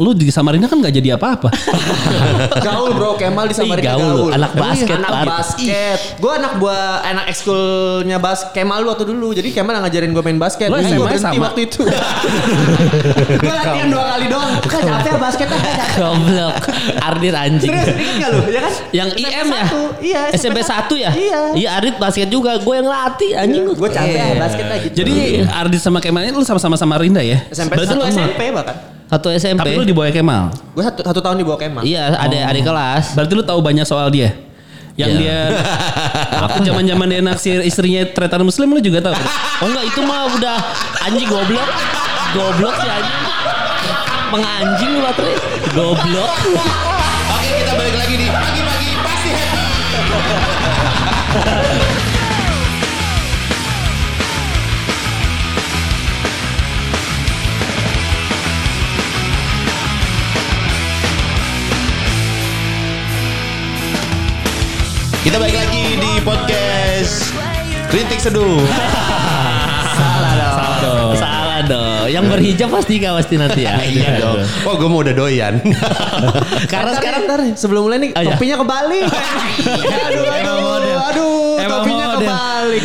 Lu di Samarinda kan gak jadi apa-apa. Gaul bro, Kemal di Samarinda gaul. Anak basket. Anak basket. Gue anak ekskulnya Kemal waktu dulu. Jadi Kemal yang ngajarin gue main basket. Lu Gue SMA berhenti sama? waktu itu. Gue latihan 2 kali doang. Bukan capek basket. Goblok. Ardit anjing. Serius, inget gak lu? Ya kan? Yang IM ya? Iya. SMP 1 ya? Iya. Ardit basket juga. Gue yang latih anjing. Gue capek basket aja gitu. Jadi Ardit sama Kemal ini lu sama-sama Samarinda ya? SMP Berarti lu SMP bahkan. Satu SMP. Tapi lu di bawah Kemal. Gue satu tahun di bawah Kemal. Iya, adik kelas. Berarti lu tahu banyak soal dia. Yang dia waktu zaman-zaman dia naksir istrinya tretan muslim lu juga tahu. Oh enggak, itu mah udah anjing goblok. Goblok sih anjing. Menganjing lu baterai. Goblok. Oke, kita balik lagi di pagi-pagi pasti happy. Kita balik lagi di podcast Kritik Seduh. Salah dong. Yang berhijab pasti nanti ya. Iya dong. Oh, gue mau udah doyan. Karena sekarang ntar sebelum mulai nih iya. topinya kebalik. Aduh, topinya kebalik.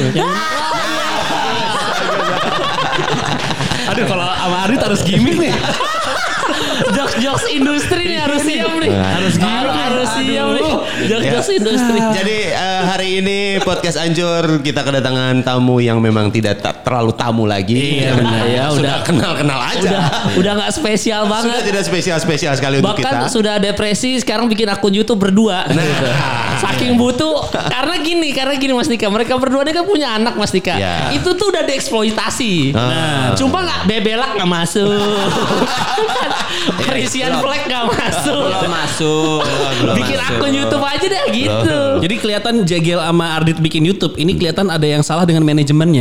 Aduh kalau sama Ardit harus gimmick nih. Jokes industri nih harus siap nih. Harus siap nih. Jokes industri. Jadi hari ini podcast Anjur kita kedatangan tamu yang memang tidak terlalu tamu lagi. Iya benar ya, sudah kenal-kenal aja. Udah enggak spesial Sudah banget. tidak spesial sekali untuk kita. Bahkan sudah depresi sekarang bikin akun YouTube berdua. Gitu. Saking butuh karena gini Mas Dika, mereka berdua ini kan punya anak Mas Dika. Ya. Itu tuh udah dieksploitasi. Nah, cuma nggak bebelak nggak masuk. Perisian flag nggak masuk. Belum masuk. Bikin akun YouTube aja deh gitu. Jadi kelihatan Jegel sama Ardit bikin YouTube. Ini kelihatan ada yang salah dengan manajemennya.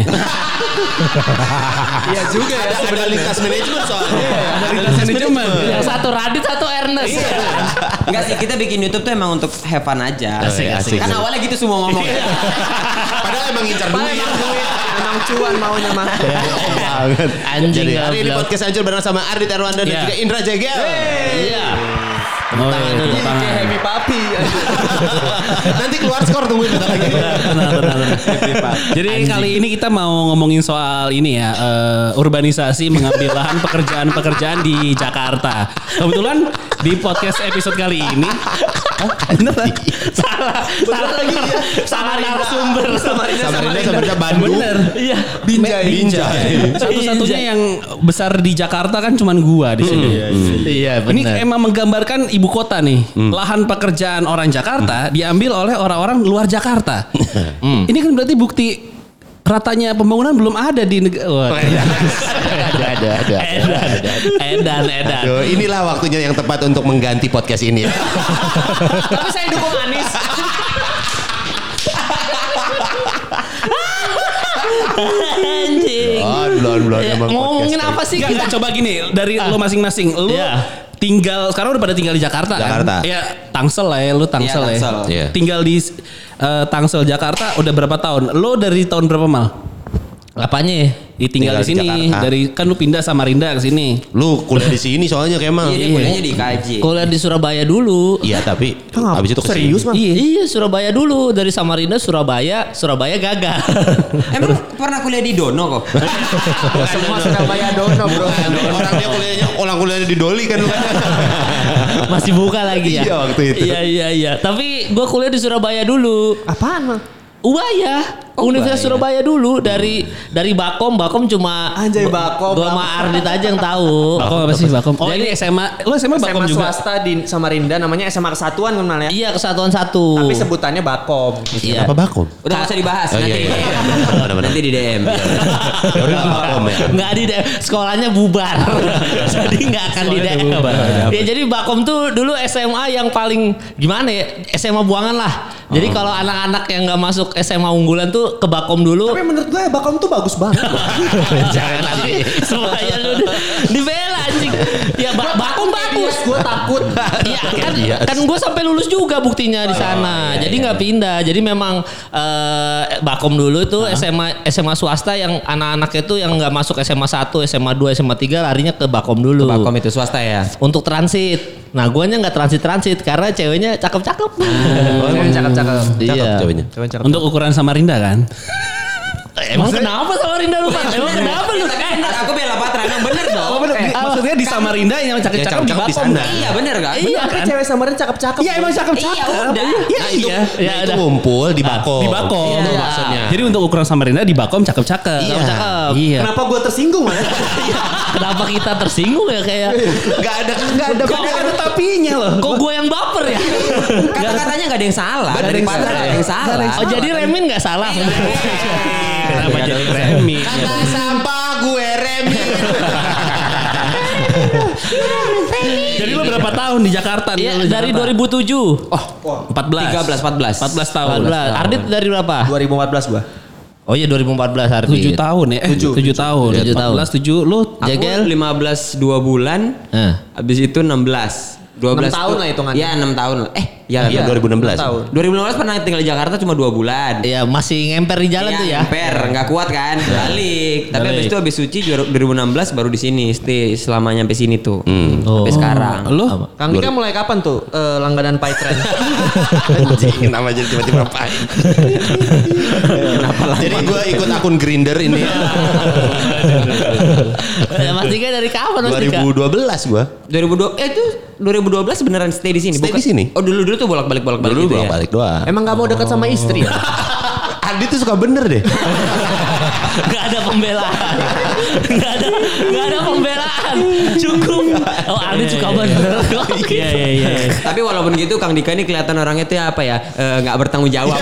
Iya juga ya. Ada lintas manajemen soalnya. Ada lintas manajemen. Yang satu Radit, satu Ernest. Enggak sih, kita bikin YouTube tuh emang untuk have fun aja. Asik. Kan awalnya gitu semua ngomong. Padahal emang ngincar duit. Emang cuan maunya mah. Banget. Anjing Jadi hari ini goblok. podcast Anjur bareng sama Ardit Erwanda dan Iya. juga Indra Jegel. Iya. Oh, iya, tepuk tangan. Kayak happy papi. Nanti keluar skor tungguin bentar lagi. Benar. Jadi kali ini kita mau ngomongin soal ini ya, urbanisasi mengambil lahan pekerjaan di Jakarta. Kebetulan di podcast episode kali ini Salah lagi ya. Sama narasumber. Samarinda Bandung. Bener. Iya. Binjai. satu-satunya yang besar di Jakarta kan cuman gua di sini. Iya Ini emang menggambarkan ibu kota nih. Lahan pekerjaan orang Jakarta diambil oleh orang-orang luar Jakarta. Ini kan berarti bukti ratanya pembangunan belum ada di negara. Ada. Edan. Aduh, inilah waktunya yang tepat untuk mengganti podcast ini. Tapi saya dukung Anies. Anjing. Belum emang Ngomongin podcast apa sih Enggak, kita? coba gini dari lo masing-masing. Lo tinggal sekarang udah pada tinggal di Jakarta Jakarta. kan? Ya Tangsel lah ya, lu Tangsel Iya, ya. Tangsel. Iya. Tinggal di Tangsel Jakarta udah berapa tahun? Lo dari tahun berapa mal? Apanya? Tinggal di Tinggal di sini. Jakarta. Dari kan lu pindah Samarinda ke sini. Lu kuliah di sini soalnya Kemal. Iya, dia kuliahnya di KJ. Kuliah di Surabaya dulu. Iya, tapi habis itu kesini. Serius mah? Iya, Surabaya dulu. Dari Samarinda Surabaya gagal. Emang pernah kuliah di Dono kok? Semua Surabaya dono bro. Orang kuliahnya di Doli kan lu kan. Masih buka lagi ya? Iya, waktu itu. Iya. Tapi gua kuliah di Surabaya dulu. Apaan mah? Ubaya, Universitas Surabaya dulu dari Bakom cuma Anjay, Bakom. Gua sama Ardit aja yang tahu. Bakom apa sih Bakom? Oh ini SMA. Lo SMA Bakom SMA juga? swasta di Samarinda namanya SMA Kesatuan kenal ya. Iya, Kesatuan 1. Tapi sebutannya Bakom. Iya. Apa Bakom? Udah gak usah dibahas Oh, nanti. iya. Nanti di DM. Ya udah Bakom ya. Nggak di DM, sekolahnya bubar. Jadi nggak akan di DM. Ya jadi Bakom tuh dulu SMA yang paling gimana ya? SMA buangan lah. Jadi kalau anak-anak yang nggak masuk SMA unggulan tuh dulu ke Bakom dulu. Tapi menurut gue Bakom tuh bagus banget. Jangan nanti semuanya lu dibela anjing. Ya Bakom bagus. Gue takut. Iya kan gue sampai lulus juga buktinya di sana. Jadi nggak pindah. Jadi memang Bakom dulu itu SMA swasta yang anak-anaknya itu yang nggak masuk SMA 1, SMA 2, SMA 3 larinya ke Bakom dulu. Bakom itu swasta ya. Untuk transit. Nah, guanya nggak transit karena ceweknya cakep-cakep. Cakep-cakep. Iya. Ceweknya. Untuk ukuran Samarinda kan? Emang kenapa Samarinda lu Pak? Emang kenapa lu? Aku bela Patra, emang bener dong. Maksudnya di Samarinda yang cakep-cakep di cakep di Bakom. sana. Iya bener kan? Iya Kan kan? cewek Samarinda cakep-cakep. Iya emang cakep-cakep. Iya udah. Iya. Ya Itu udah. ngumpul di Bakom. Di Bakom. Itu Iya. maksudnya. Jadi untuk ukuran Samarinda di Bakom cakep-cakep. Iya. Cakep. Iya. Kenapa gue tersinggung ya? Kenapa kita tersinggung ya kayak? Gak ada tapinya loh. Kok gue yang baper ya? Kata-katanya gak ada yang salah. Dari Patra gak ada yang salah. Oh jadi Remin nggak salah? Kenapa jadi Remi? Kata sampah gue Remi. Jadi lo berapa tahun di Jakarta? Iya dari 2007. Oh, 14. 14. 14 tahun. 14. Ardit dari berapa? 2014 gue. Oh iya 2014 Ardit. 7 tahun ya? 7 tahun. 7 tahun. 14, 7. Lu Aku Jagel? 15 2 bulan. Habis itu 16. 12 6 tahun lah hitungannya. Iya 6 tahun lah. Ya Iya 2016. 2015 pernah tinggal di Jakarta cuma 2 bulan. Iya masih ngemper di jalan Iya, tuh ya. ngemper, nggak kuat kan, balik. Tapi habis itu habis suci 2016 baru di sini, stay selamanya sampai sini tuh, sampai sekarang. lu Kang Dika mulai kapan tuh langganan Paytren? Anjing, kenapa jadi tiba-tiba pahit? Jadi gue ikut akun Grindr ini. Ya Mas Dika dari kapan Mas Dika? 2012 gue. 2012 beneran stay di sini. Stay di sini. Oh dulu tuh bolak-balik Dulu gitu ya. balik doang. Emang gak mau dekat sama istri ya? Adi tuh suka bener deh. Gak ada pembelaan. Gak ada pembelaan. Cukup. Oh Ardit suka bener. Iya. Tapi walaupun gitu Kang Dika ini kelihatan orangnya tuh apa ya? Nggak bertanggung jawab.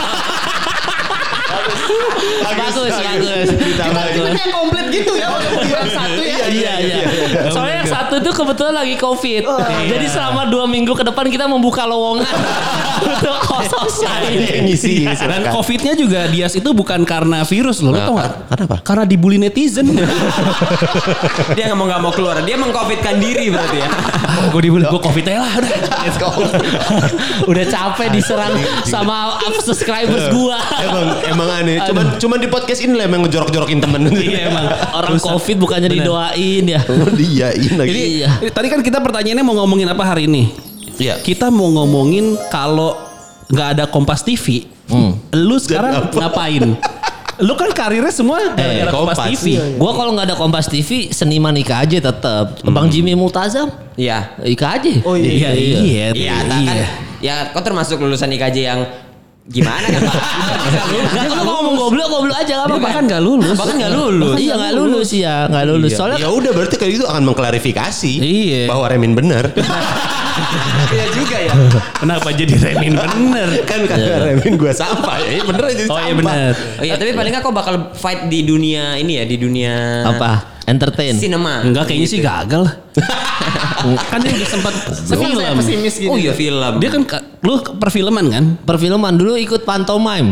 Bagus. Yang komplit gitu ya. Yang satu ya. Iya. Soalnya yang satu itu kebetulan lagi COVID. Jadi selama 2 minggu ke depan kita membuka lowongan untuk host lain. Ngisi. Dan COVID-nya juga Dias itu bukan karena virus loh, lo tau gak? Kenapa? Karena dibully netizen. Dia nggak mau keluar. Dia mengcovidkan diri berarti ya. Gue dibully, gue COVID aja lah udah. Udah capek diserang sama subscribers gua. Emang aneh. Cuman di podcast ini lah emang ngejorok-jorokin temen. Iya emang. Orang COVID bukannya didoain ya. Diain lagi. Jadi Iya. tadi kan kita pertanyaannya mau ngomongin apa hari ini? Iya. Kita mau ngomongin kalau nggak ada Kompas TV, lu sekarang ngapain? Lu kan karirnya semua gara-gara Kompas Kompas. TV. Gua kalau nggak ada Kompas TV seniman Ika aja tetap. Bang Jimmy Multazam Iya. Ika aja. Oh iya. Iya, kan. Ya, kau termasuk lulusan IKJ yang gimana kan Pak? Gak lu mau ngomong goblok aja apa-apa. Bahkan nggak lulus. Bahkan nggak lulus. Iya nggak lulus ya, nggak lulus. Soalnya Ya udah berarti kayak gitu akan mengklarifikasi Iya. bahwa Remin bener. Iya juga ya. Kenapa jadi Remin bener? Kan kata Remin gue sampah ya. Bener aja jadi Oh iya sampah. bener. Oh iya, tapi paling nggak kau bakal fight di dunia ini ya, di dunia apa? Entertain. Sinema. Enggak kayaknya sih gagal. Kan dia udah sempat film. Pesimis gini. Oh iya film. Dia kan lu perfilman kan? Perfilman dulu ikut pantomime.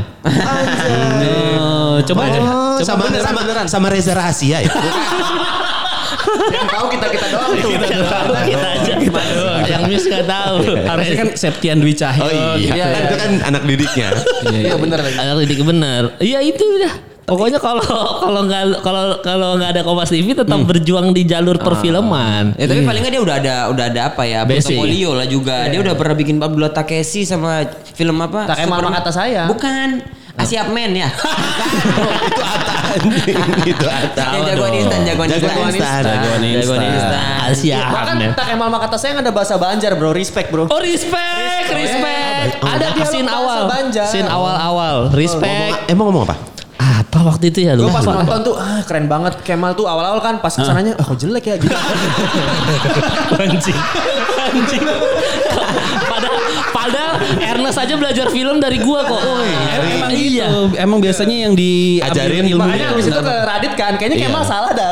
Coba aja. Oh, sama Reza Rahasia ya. Yang tahu kita doang tuh. Kita aja. Yang Miss nggak tahu. Harusnya kan Septian Dwi Cahyo. Oh iya, kan itu kan anak didiknya. Iya bener lagi. Anak didik bener. Iya itu dah. Pokoknya kalau nggak ada Kompas TV tetap berjuang di jalur perfilman. Ya tapi paling nggak dia udah ada apa ya, Basic. portofolio lah juga. Dia udah pernah bikin Pablo Takeshi sama film apa? Tak emang Superman. kata saya. Bukan. Asiap Men ya. Itu Ata. Itu Ata. Yang jagoan instan. Jagoan instan. Jagoan instan. Asia. Bahkan tak emang kata saya ada bahasa Banjar bro, respect bro. Oh respect. Ada Dialog scene bahasa awal. Banjar. Scene awal. Respect. Emang ngomong apa? Apa waktu itu ya lu? Gue pas nonton tuh keren banget Kemal tuh awal-awal kan pas kesananya kok jelek ya gitu. Anjing. Padahal Ernest aja belajar film dari gua kok. Emang gitu. Emang biasanya yang diajarin ilmu. Makanya abis itu ke Radit kan, kayaknya Kemal salah dah.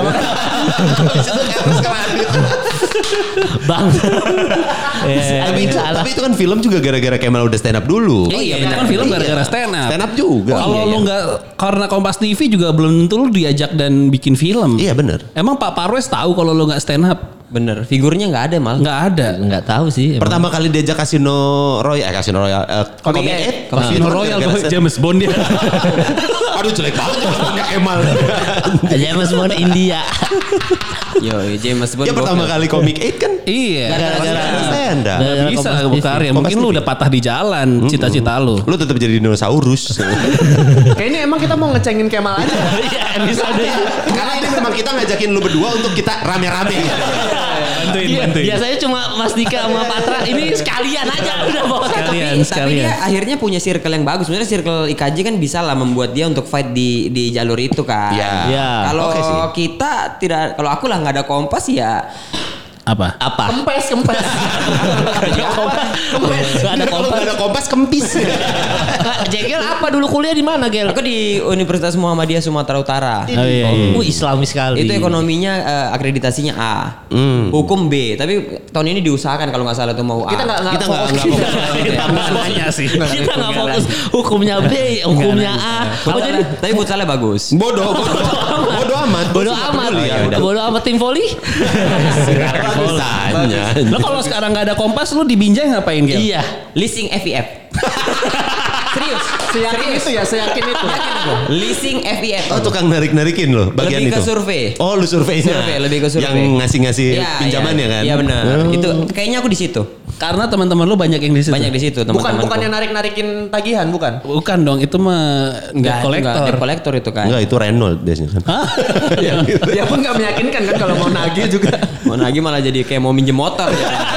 Bang. Tapi itu kan film juga gara-gara Kemal udah stand up dulu. Iya, itu kan film gara-gara stand up. Stand up juga. Kalau lu nggak karena Kompas TV juga belum tentu lu diajak dan bikin film. Iya benar. Emang Pak Parwes tahu kalau lu nggak stand up? Bener, figurnya nggak ada mal. Nggak ada. Nggak tahu sih. Pertama kali diajak Casino Royal, Comic Casino Royal James Bond dia. Aduh jelek banget ya Kemal. James Bond India. Yo, James Bond. Ya pertama kali Comic 8 kan. Iya. Gara-gara stand up. Nggak bisa berkarya. Mungkin lu udah patah di jalan cita-cita lu. Lu tetap jadi dinosaurus. Kayaknya emang kita mau ngecengin Kemal aja. Iya, episode. Karena ini memang kita ngajakin lu berdua untuk kita rame-rame. Bantuin. Biasanya cuma Mas Dika sama Patra. Ini sekalian aja udah bawa Tapi dia akhirnya punya circle yang bagus. Sebenarnya circle IKJ kan bisa lah membuat dia untuk fight di jalur itu kan. Iya. Kalau kita tidak, kalau aku lah nggak ada Kompas ya. Apa? Kempes. Gak ada Kalau Kompas. nggak ada Kompas kempis. Jegel apa dulu kuliah di mana Gel? Aku di Universitas Muhammadiyah Sumatera Utara. iya. Islami sekali. Itu ekonominya akreditasinya A, hukum B. Tapi tahun ini diusahakan kalau nggak salah tuh mau A. Kita nggak Namanya sih. Kita nggak fokus hukumnya B, hukumnya A. Oh jadi Tapi futsalnya bagus. Bodoh amat. bodoh amat tim voli. Lo kalau sekarang nggak ada Kompas, lu di Binjai ngapain Gel? Iya. Leasing FIF. Serius. Seyakin itu. Leasing FIF. Oh tukang narik-narikin loh bagian Lebih itu. ke survei. Oh lu surveinya. Lebih ke survei. Yang ngasih-ngasih pinjamannya kan. Iya benar. Itu kayaknya aku di situ. Karena teman-teman lu banyak yang di situ. Banyak di situ teman-teman. Bukan yang narik-narikin tagihan, bukan? Bukan dong, itu mah debt collector. Debt collector itu kan. Enggak itu Renault biasanya kan. Ya pun nggak meyakinkan kan kalau mau nagih juga. Mau nagih malah jadi kayak mau minjem motor.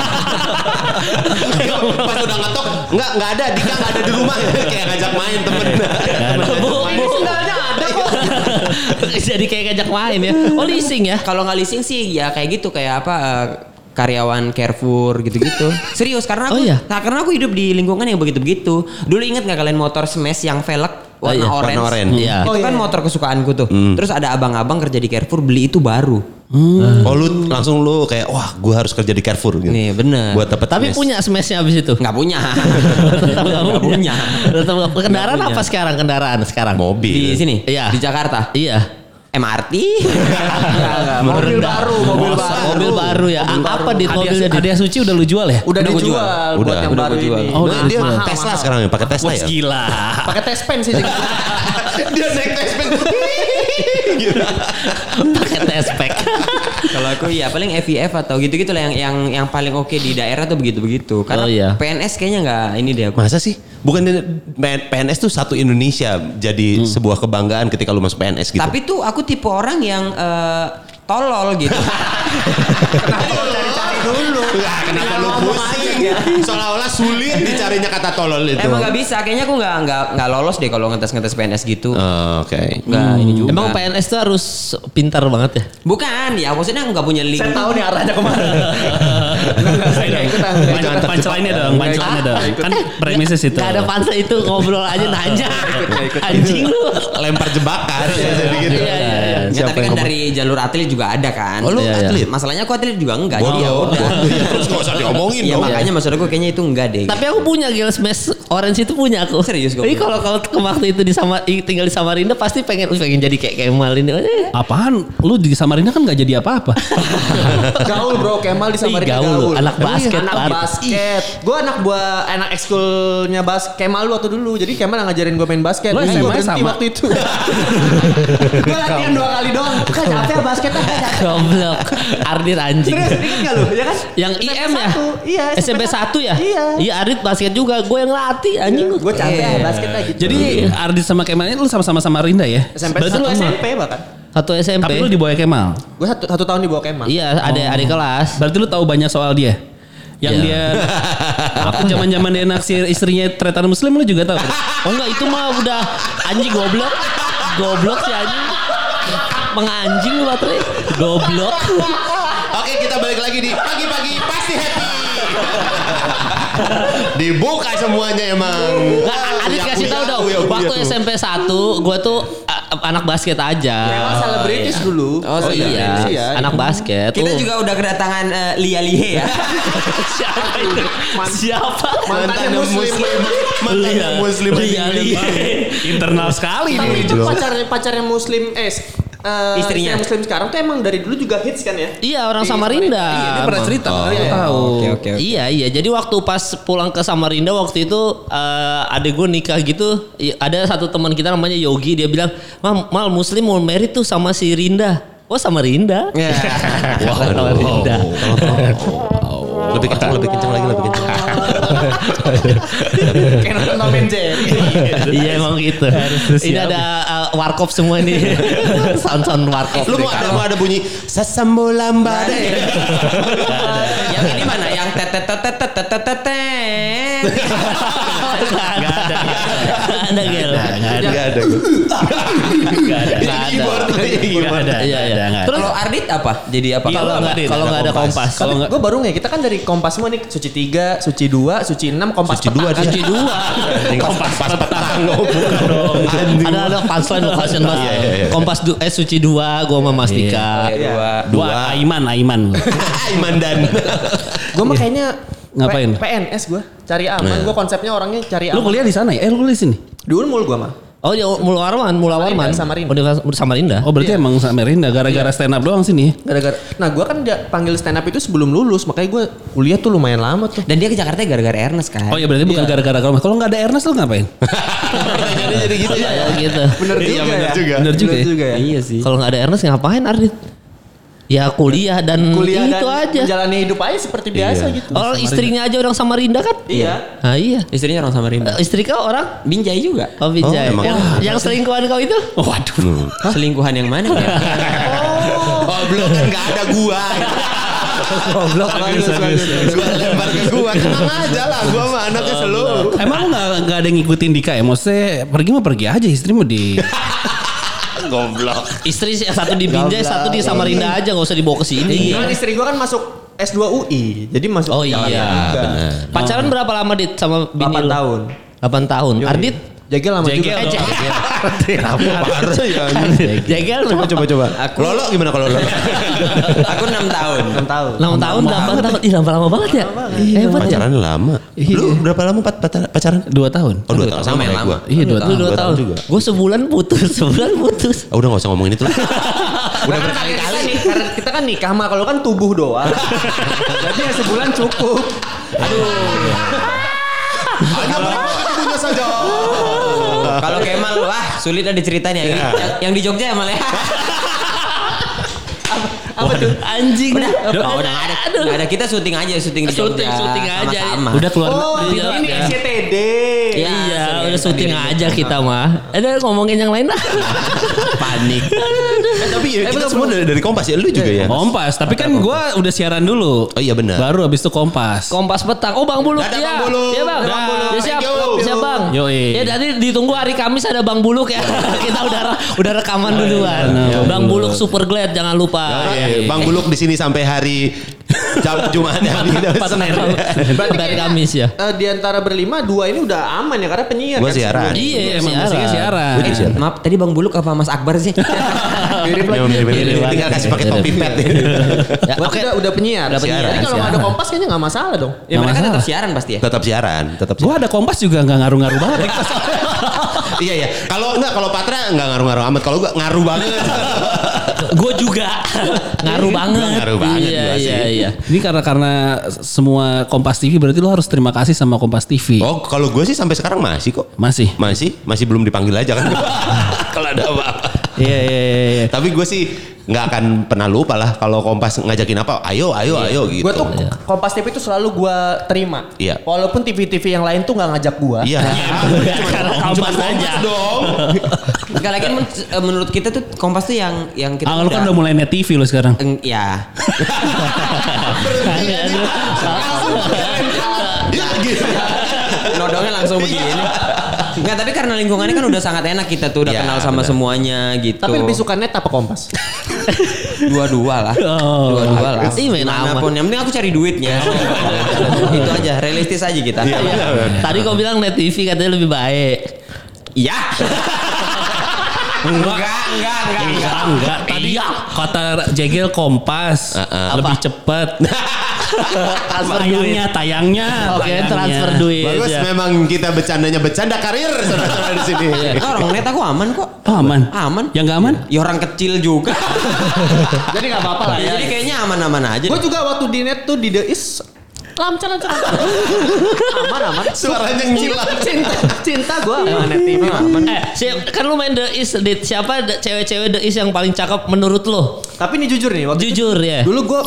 Pas udah ngetok enggak ada Dika enggak ada di rumah kayak ngajak main temen. Sendalnya ada kok. Jadi kayak ngajak main ya. Oh leasing ya. Kalau nggak leasing sih ya kayak gitu kayak apa karyawan Carrefour gitu-gitu. Serius karena aku karena aku hidup di lingkungan yang begitu-begitu. Dulu ingat nggak kalian motor smash yang velg warna orange? Warna orange. Iya. Itu kan motor kesukaanku tuh. Terus ada abang-abang kerja di Carrefour beli itu baru. Oh lu langsung lu kayak wah gue harus kerja di Carrefour gitu. Nih bener. Buat dapet Tapi smash. punya smashnya abis itu. Nggak punya. Nggak punya. Kendaraan apa sekarang? Kendaraan sekarang. Mobil. Di sini. Iya. Di Jakarta. Iya. MRT. Mobil baru ya. Apa di mobilnya? Hadiah suci udah lu jual ya? Udah dijual buat yang Udah baru gua jual. ini. Oh, Dia mahal. Tesla sekarang ya pakai Tesla ya. Gila. Pakai tes pen sih. Dia naik Tesla. Pakai tespek. Kalau aku ya paling FIF atau gitu-gitu lah yang paling oke di daerah tuh begitu-begitu. Karena Oh, iya. PNS kayaknya nggak ini deh aku. Masa sih? Bukan PNS tuh satu Indonesia jadi sebuah kebanggaan ketika lu masuk PNS gitu. Tapi tuh aku tipe orang yang tolol gitu. Kenapa lo cari-cari dulu? Kenapa lu pusing? Seolah-olah sulit dicarinya kata tolol itu. Emang nggak bisa. Kayaknya aku nggak lolos deh kalau ngetes PNS gitu. Oke. Nggak ini juga. Emang PNS tuh harus pintar banget ya? Bukan ya maksudnya nggak punya link. Saya tahu nih arahnya kemana. Saya nggak ikutan. Punchline-nya dong. Kan premisnya situ. Gak ada pansa itu ngobrol aja nanya. Anjing lu. Lempar jebakan. Iya. Ya, tapi kan dari jalur atlet juga ada kan. Oh, lu atlet? Masalahnya aku atlet juga enggak. Jadi ya udah. Terus gak usah diomongin Iya dong. makanya maksud aku kayaknya itu enggak deh. Tapi aku punya Gel Smash Orange itu punya aku. Serius kau Jadi punya? kalau ke waktu itu tinggal di Samarinda pasti pengen jadi kayak Kemal ini. Apaan? Lu di Samarinda kan gak jadi apa-apa. Gaul bro, Kemal di Samarinda gaul. gaul. Anak basket, Anak Par. basket. Gue anak ekskulnya Kemal waktu dulu. Jadi Kemal ngajarin gue main basket. Lu Gue SMA berhenti sama? waktu itu. Gue latihan 2 kali doang. Kan capek basket capek. Goblok. Ardit anjing. Serius, inget gak lu? Ya kan? Yang IM ya? Iya. SMP 1 ya? Iya. Iya Ardit basket juga. Gue yang latih anjing. Gue capek basket aja gitu. Jadi Ardit sama Kemal ini lu sama-sama Samarinda ya? SMP Berarti lu SMP bahkan. Satu SMP. Tapi lu di bawah Kemal. Gue satu tahun di bawah Kemal. Iya, adik kelas. Berarti lu tahu banyak soal dia. Yang Iya. dia waktu zaman-zaman dia naksir istrinya tretan muslim lu juga tahu. Oh enggak itu mah udah anjing goblok. Goblok sih anjing. Menganjing lu Patre. Goblok. Oke, kita balik lagi di pagi-pagi pasti happy. Dibuka semuanya emang. Adit kasih tahu dong. Waktu SMP 1 gue tuh anak basket aja. Memang selebritis dulu. Oh iya, anak basket. Kita juga udah kedatangan Lia Lihe ya. Siapa itu? Siapa? Mantannya muslim. Mantannya muslim. Internal sekali Tapi nih. itu pacarnya muslim Istrinya. muslim sekarang tuh emang dari dulu juga hits kan ya? Iya, orang Samarinda. Iya, dia pernah cerita. Aku tahu. Oke. Iya. Jadi waktu pas pulang ke Samarinda waktu itu adek gue nikah gitu. Ada satu teman kita namanya Yogi. Dia bilang, Mal Muslim mau married tuh sama si Rinda. Oh Samarinda. Ya. Samarinda. Lebih kencang lagi. Kayak nonton Tom and Jerry. Iya emang gitu. Ini ada warkop semua nih. Sound warkop. Lu mau ada bunyi sasambolamba deh. Yang ini mana? Yang tetetetetetetetet. Gak ada. Enggak ada. Iya. Terus kalau Ardit apa? Jadi apa? Kalau nggak ada kompas. Kalau gue baru nggak, kita kan dari Kompas semua nih, Suci 3, Suci 2, Suci 6, Kompas Suci 2 Suci 2. Kompas petang. Bukan dong. Ada punchline location mas. Kompas Suci 2 gue sama Mastika. Dua Aiman. Aiman dan gue mah kayaknya Ngapain? PNS gue cari aman. Gue konsepnya orangnya cari Lu aman. kuliah di sana ya? Lu kuliah di sini? Di Unmul gue mah. Oh ya Mula Warman. Samarinda. Universitas Samarinda. Oh berarti emang Samarinda gara-gara stand up doang sini. Gara-gara. Nah gue kan panggil stand up itu sebelum lulus, makanya gue kuliah tuh lumayan lama tuh. Dan dia ke Jakarta gara-gara Ernest kan. Oh ya berarti bukan gara-gara kamu. Kalau nggak ada Ernest lu ngapain? jadi gitu ya. Gitu. Bener juga ya. Bener juga ya. Iya sih. Kalau nggak ada Ernest ngapain Ardit? Ya kuliah dan Kuliah itu dan aja. menjalani hidup aja seperti biasa gitu. Orang istrinya aja orang Samarinda kan? Iya. Ah iya. Istrinya orang Samarinda. Istri kau orang? Binjai juga. Oh Binjai. emang. Yang selingkuhan kau itu? Waduh. Selingkuhan yang mana ya? Oh belum kan nggak ada gua. Goblok. Gua lempar ke gua. Tenang aja lah. Gua mah anaknya selalu. Emang lu nggak ada yang ngikutin Dika ya? Maksudnya pergi mah pergi aja, istri mau di. Goblok. Istri satu di Binjai, satu di Samarinda aja, nggak usah dibawa ke sini. Kan istri gue kan masuk S2 UI, jadi masuk. Oh iya, benar. Pacaran berapa lama Dit sama bini 8 lu? tahun. 8 tahun. Yoi. Ardit? Jegel lama juga. Jegel Coba. Lolo gimana kalau Lolo? Aku 6 tahun. 6 tahun. 6 tahun, 8 tahun. Ih lama banget ya. Hebat ya. Pacaran lama. Lu berapa lama pacaran? 2 tahun. Oh 2 tahun sama yang kayak gua. Iya 2 Lu tahun. 2 tahun juga. Gue sebulan putus. Udah gak usah ngomongin itu lah. Udah berkali-kali nih, karena kita kan nikah mah, kalau kan tubuh doang. Jadi ya sebulan cukup. Hanya punya saja. Kalau Kemal wah sulit ada ceritanya. Yang di Jogja ya Mal ya. Apa tuh? Anjing. Udah nggak ada. Kita syuting aja, syuting di Jogja. Syuting aja. Sama-sama. Udah keluar. Oh, ini SCTD. Iya, udah syuting aja kita mah. Ada ngomongin yang lain lah. Panik. Tapi ya kita semua dari Kompas ya, lu juga ya. Kompas, tapi kan gua udah siaran dulu. Oh iya benar. Baru habis itu Kompas. Kompas petang. Oh Bang Buluk Ada ya. Bang Buluk. Iya Bang. Ada Bang Buluk. Ya, siap. Thank you. Siap Bang. Yoi. Ya nanti ditunggu hari Kamis ada Bang Buluk ya. Kita udah rekaman duluan. Bang Buluk Super Glad jangan lupa. Bang Buluk di sini sampai hari Jumat ya. Berarti hari Kamis ya. Di antara berlima, 2 ini udah aman ya, karena penyiar. Gua kan siaran. sebelumnya. Iya, Emang musiknya siaran. Maaf tadi Bang Buluk apa Mas Akbar sih? Mirip lagi. Tinggal kasih pakai topi pet. Ya, Gua udah penyiar. Udah penyiar. Jadi kalau nggak ada Kompas kayaknya nggak masalah dong. Ya mereka tetap siaran pasti ya. Tetap siaran. Gua ada Kompas juga nggak ngaruh-ngaruh banget. Iya. Kalau Patra nggak ngaruh-ngaruh amat. Kalau gua ngaruh banget. Gue juga ngaruh banget. Ngaruh banget gua sih. Iya. Ini karena semua Kompas TV berarti lu harus terima kasih sama Kompas TV. Oh, kalau gue sih sampai sekarang masih kok. Masih. Belum dipanggil aja kan. Kalau ada apa-apa. Iya. Tapi gue sih nggak akan pernah lupa lah kalau Kompas ngajakin apa, ayo gitu. Gue tuh Kompas TV itu selalu gue terima. Iya. Walaupun TV-TV yang lain tuh nggak ngajak gue. Iya. Karena Kompas aja. dong. Enggak lagi menurut kita tuh Kompas tuh yang kita Lu kan udah mulai net TV lu sekarang. ya. Ya gitu. Nodongnya langsung begini. Enggak, tapi karena lingkungannya kan udah sangat enak kita tuh udah Ya, kenal sama benar. semuanya gitu. Tapi lebih suka net apa Kompas? Dua-dua lah. Dua-dua lah. Iya, main aman. Manapun, yang penting aku cari duitnya. Itu aja, realistis aja kita. Tadi kau bilang Net TV katanya lebih baik. Iya. Enggak. Tadi kata Jegel Kompas lebih cepet. Tayangnya. Oke, transfer duit. Bagus, ya. memang kita bercanda karir saudara-saudara di sini. Orang net aku aman kok. Oh, aman. Aman. Yang nggak aman? Ya orang kecil juga. Jadi nggak apa-apa lah ya. Jadi kayaknya aman-aman aja. Gue juga waktu di net tuh di The Is lancar. Aman. Suaranya ngilang. Cinta gue sama net TV aman. Kan lu main The Is, Dit. Siapa cewek-cewek The Is yang paling cakep menurut lo? Tapi ini jujur nih, waktu Jujur ya. dulu gue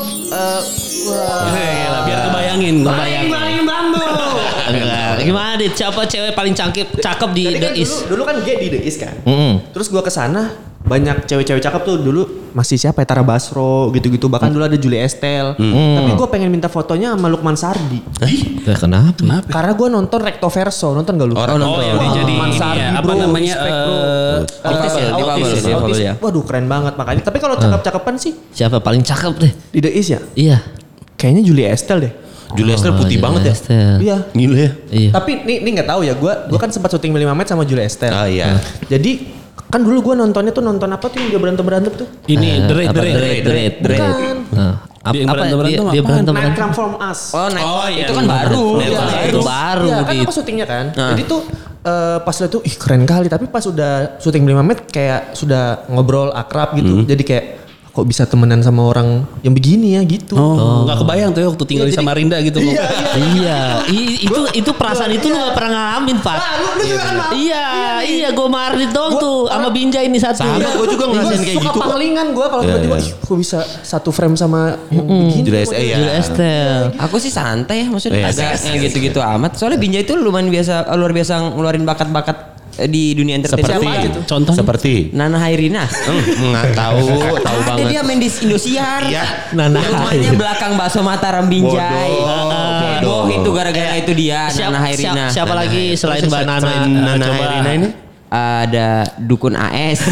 Biar kebayangin. bambu. Enggak. Gimana Dit? Siapa cewek paling cakep di Jadi The kan Is? dulu kan G di The Is kan. Mm-mm. Terus gue kesana banyak cewek-cewek cakep tuh dulu masih siapa ya Tara Basro gitu-gitu bahkan dulu ada Julie Estelle. Tapi gue pengen minta fotonya sama Lukman Sardi. Kenapa? Karena gue nonton Recto Verso, nonton gak lu? Oh, yang dia jadi Lukman ini Sardi, ya, apa bro, namanya? respect, bro. Autis ya, difabel ya. Waduh keren banget makanya. Tapi kalau cakep-cakepan sih Siapa paling cakep deh? di The Is ya, Iya. kayaknya Julie Estelle deh. Julia Estelle putih Julia banget ya. Estelle. Iya. Gila ya. Iya. Tapi ini nggak tahu ya, gue kan sempat syuting 5 menit sama Julie Estelle. Oh iya. Jadi kan dulu gue nontonnya tuh nonton apa tuh yang dia berantem tuh? Ini The Raid. Bukan. Dia berantem-berantem Dia apaan? berantem. Night Come From Us. Itu kan baru. Itu baru Iya kan Dit. apa syutingnya kan. Jadi tuh pas lihat tuh ih keren kali. Tapi pas udah syuting 5 menit kayak sudah ngobrol akrab gitu. Jadi kayak kok bisa temenan sama orang yang begini ya gitu. Oh, nggak kebayang tuh ya waktu tinggal di Samarinda gitu. Iya, itu perasaan itu lu gak pernah ngalamin, Pak. Lu juga kan mau. Iya, gue Mardit doang tuh sama Binjai ini satu. Sama, gue juga ngerasain kayak suka gitu. panglingan gue kalau tiba-tiba ih kok bisa satu frame sama yang begini. Julia Estelle ya. Julia Estelle. Aku sih santai ya, maksudnya Yes, agak yes, yang gitu-gitu amat. Soalnya Binjai itu luar biasa ngeluarin bakat-bakat di dunia entertainment. Seperti Siapa aja tuh? Contohnya? Seperti Nana Hairina. nggak tahu Ada banget. dia main di Indosiar. Iya. Nana Rumahnya belakang bakso Mataram Binjai. Bodoh. Itu gara-gara itu dia Nana Hairina. Siapa lagi selain Mbak Nana? Selain Nana Coba. Hairina ini? Ada Dukun AS.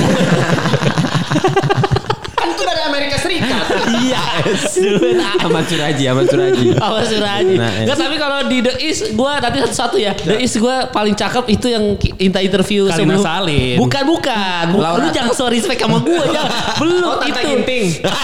Kan itu dari Amerika Serikat. Iya. Ahmad Suraji. Apa Suraji? Nah, Enggak, tapi kalau di The Is gue nanti satu-satu ya. The Is gue paling cakep itu yang interview Karina sebelum. Salim. Bukan. Lu jangan so respect sama gue jangan. Belum Tante itu. Ginting.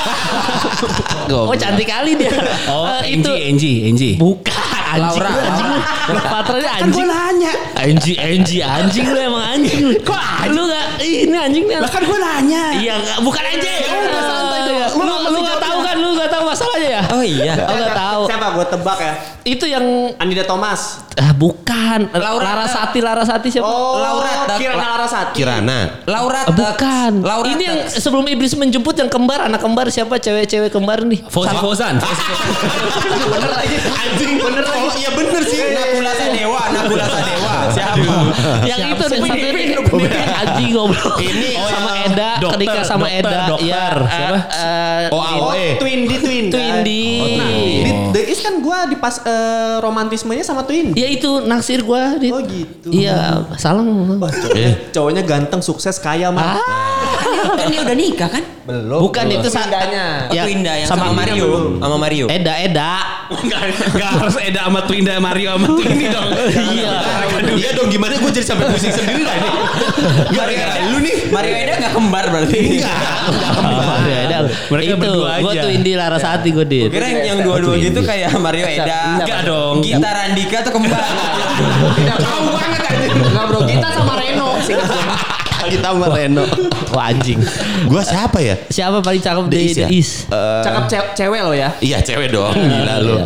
Oh cantik kali dia. Oh, Itu Angie. bukan anjing. Laura. Patranya anjing. nanya. Anjing lu emang anjing lu. Kok lu enggak ini anjing nih. Kan gue nanya. Iya, bukan anjing. udah santai dong. Iya. Lu enggak tahu kan? Lu enggak tahu masalahnya ya? Oh iya. Oh enggak tahu. Siapa gue tebak ya? Itu yang Anida Thomas. bukan. Laura. Larasati siapa? Laura. Kirana Larasati. Kirana. Laura. Bukan. Laura. Ini yang sebelum iblis menjemput yang kembar, anak kembar siapa? Cewek-cewek kembar nih. Fauzan. Bener lagi. Anjing bener. Oh iya bener sih. Nagula Sadewa. Siapa? Yang itu nih satu ini anjing goblok. Ini sama Eda, dokter, ketika sama dokter, Eda. dokter. Iya. Siapa? Oh AOE. Twindy. Twindy. Nah, di The Is kan gue di pas romantismenya sama Twindy. Ya itu naksir gua. Oh gitu. Iya, salah. Cowoknya ganteng, sukses, kaya mah. Kan dia udah nikah kan? Belum. Bukan itu Twindanya. Oh, Twinda yang sama Mario. Sama Mario. Eda. Enggak harus Eda sama Twinda Mario sama Twindy dong. Iya. Iya dong gimana gue jadi sampai pusing sendiri lah ini. Gara-gara lu nih. Mario Eda gak kembar berarti. Eda. Mereka itu, berdua gua aja. tuh Indi Larasati gue dit. Kira yang dua-dua gitu kayak Mario Eda. Enggak dong. Gita Randika tuh kembar. Tidak tahu banget aja. Enggak bro, kita sama Reno. Kita sama Reno. Wah anjing. Gue siapa ya? Siapa paling cakep di Is The ya? Is? Cakep cewek lo ya. Iya cewek dong. Gila lu.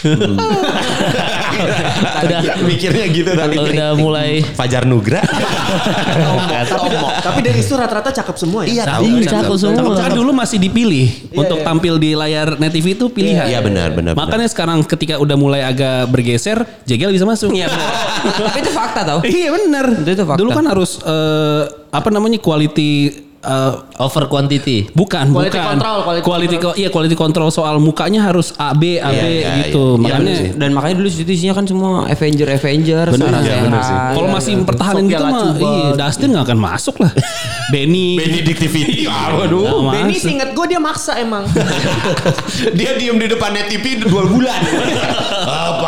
Udah Mikirnya gitu tadi. udah mulai Fajar Nugra. Tapi dari itu rata-rata cakep semua ya. Iya tahu. Iya, cakep semua. Kan dulu masih dipilih untuk tampil di layar Net TV itu pilihan. Iya benar. Makanya sekarang ketika udah mulai agak bergeser, Jegel bisa masuk. Iya benar. Tapi itu fakta tau. Iya benar. Itu fakta. Dulu kan harus quality Over quantity. Bukan, Quality bukan. control, Quality control soal mukanya harus AB gitu. Makanya Dan makanya dulu situ isinya kan semua Avenger. benar sih. Kalau masih mempertahankan gitu mah, Dustin nggak akan masuk lah. Benedictivity. Waduh. Benny inget gue dia maksa emang. Dia diem di depan net TV 2 bulan. Apa?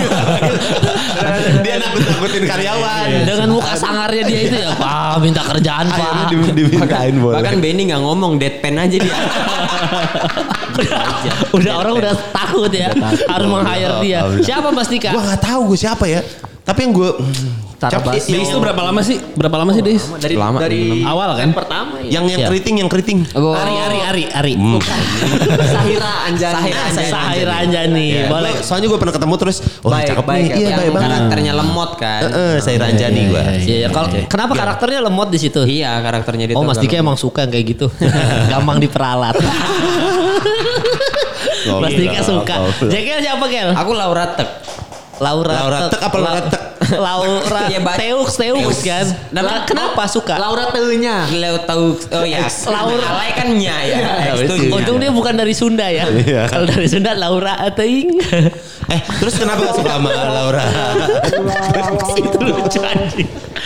Dia nakut-nakutin karyawan. Dengan muka sangarnya dia itu ya, Pak, minta kerjaan, Pak. Dimintain boleh. Bahkan Benny nggak ngomong, deadpan aja dia. Udah orang udah takut ya, harus meng-hire dia. Siapa Mas Dika? Gua nggak tahu gue siapa ya. Tapi yang gue Deis itu berapa lama sih? Deis? Dari awal kan? pertama ya. yang keriting. Ari. Sahira Anjani. Boleh. Soalnya gue pernah ketemu terus, cakep nih. Iya, baik banget. Karakternya lemot kan. Sahira Anjani gue. Iya, kenapa karakternya lemot di situ? Iya, karakternya dia. Oh, Mas Dika emang suka yang kayak gitu. Gampang diperalat. Mas Dika suka. Jekel siapa, Kel? Aku Laura Tek. Laura Tek apa Laura Tek? Laura Teux kan. Kenapa suka? Laura Teunya. Oh ya. Laura Alay kan nya ya. Untung dia bukan dari Sunda ya. Kalau dari Sunda Laura Teing. Terus kenapa gak suka sama Laura? Itu lucu anjing.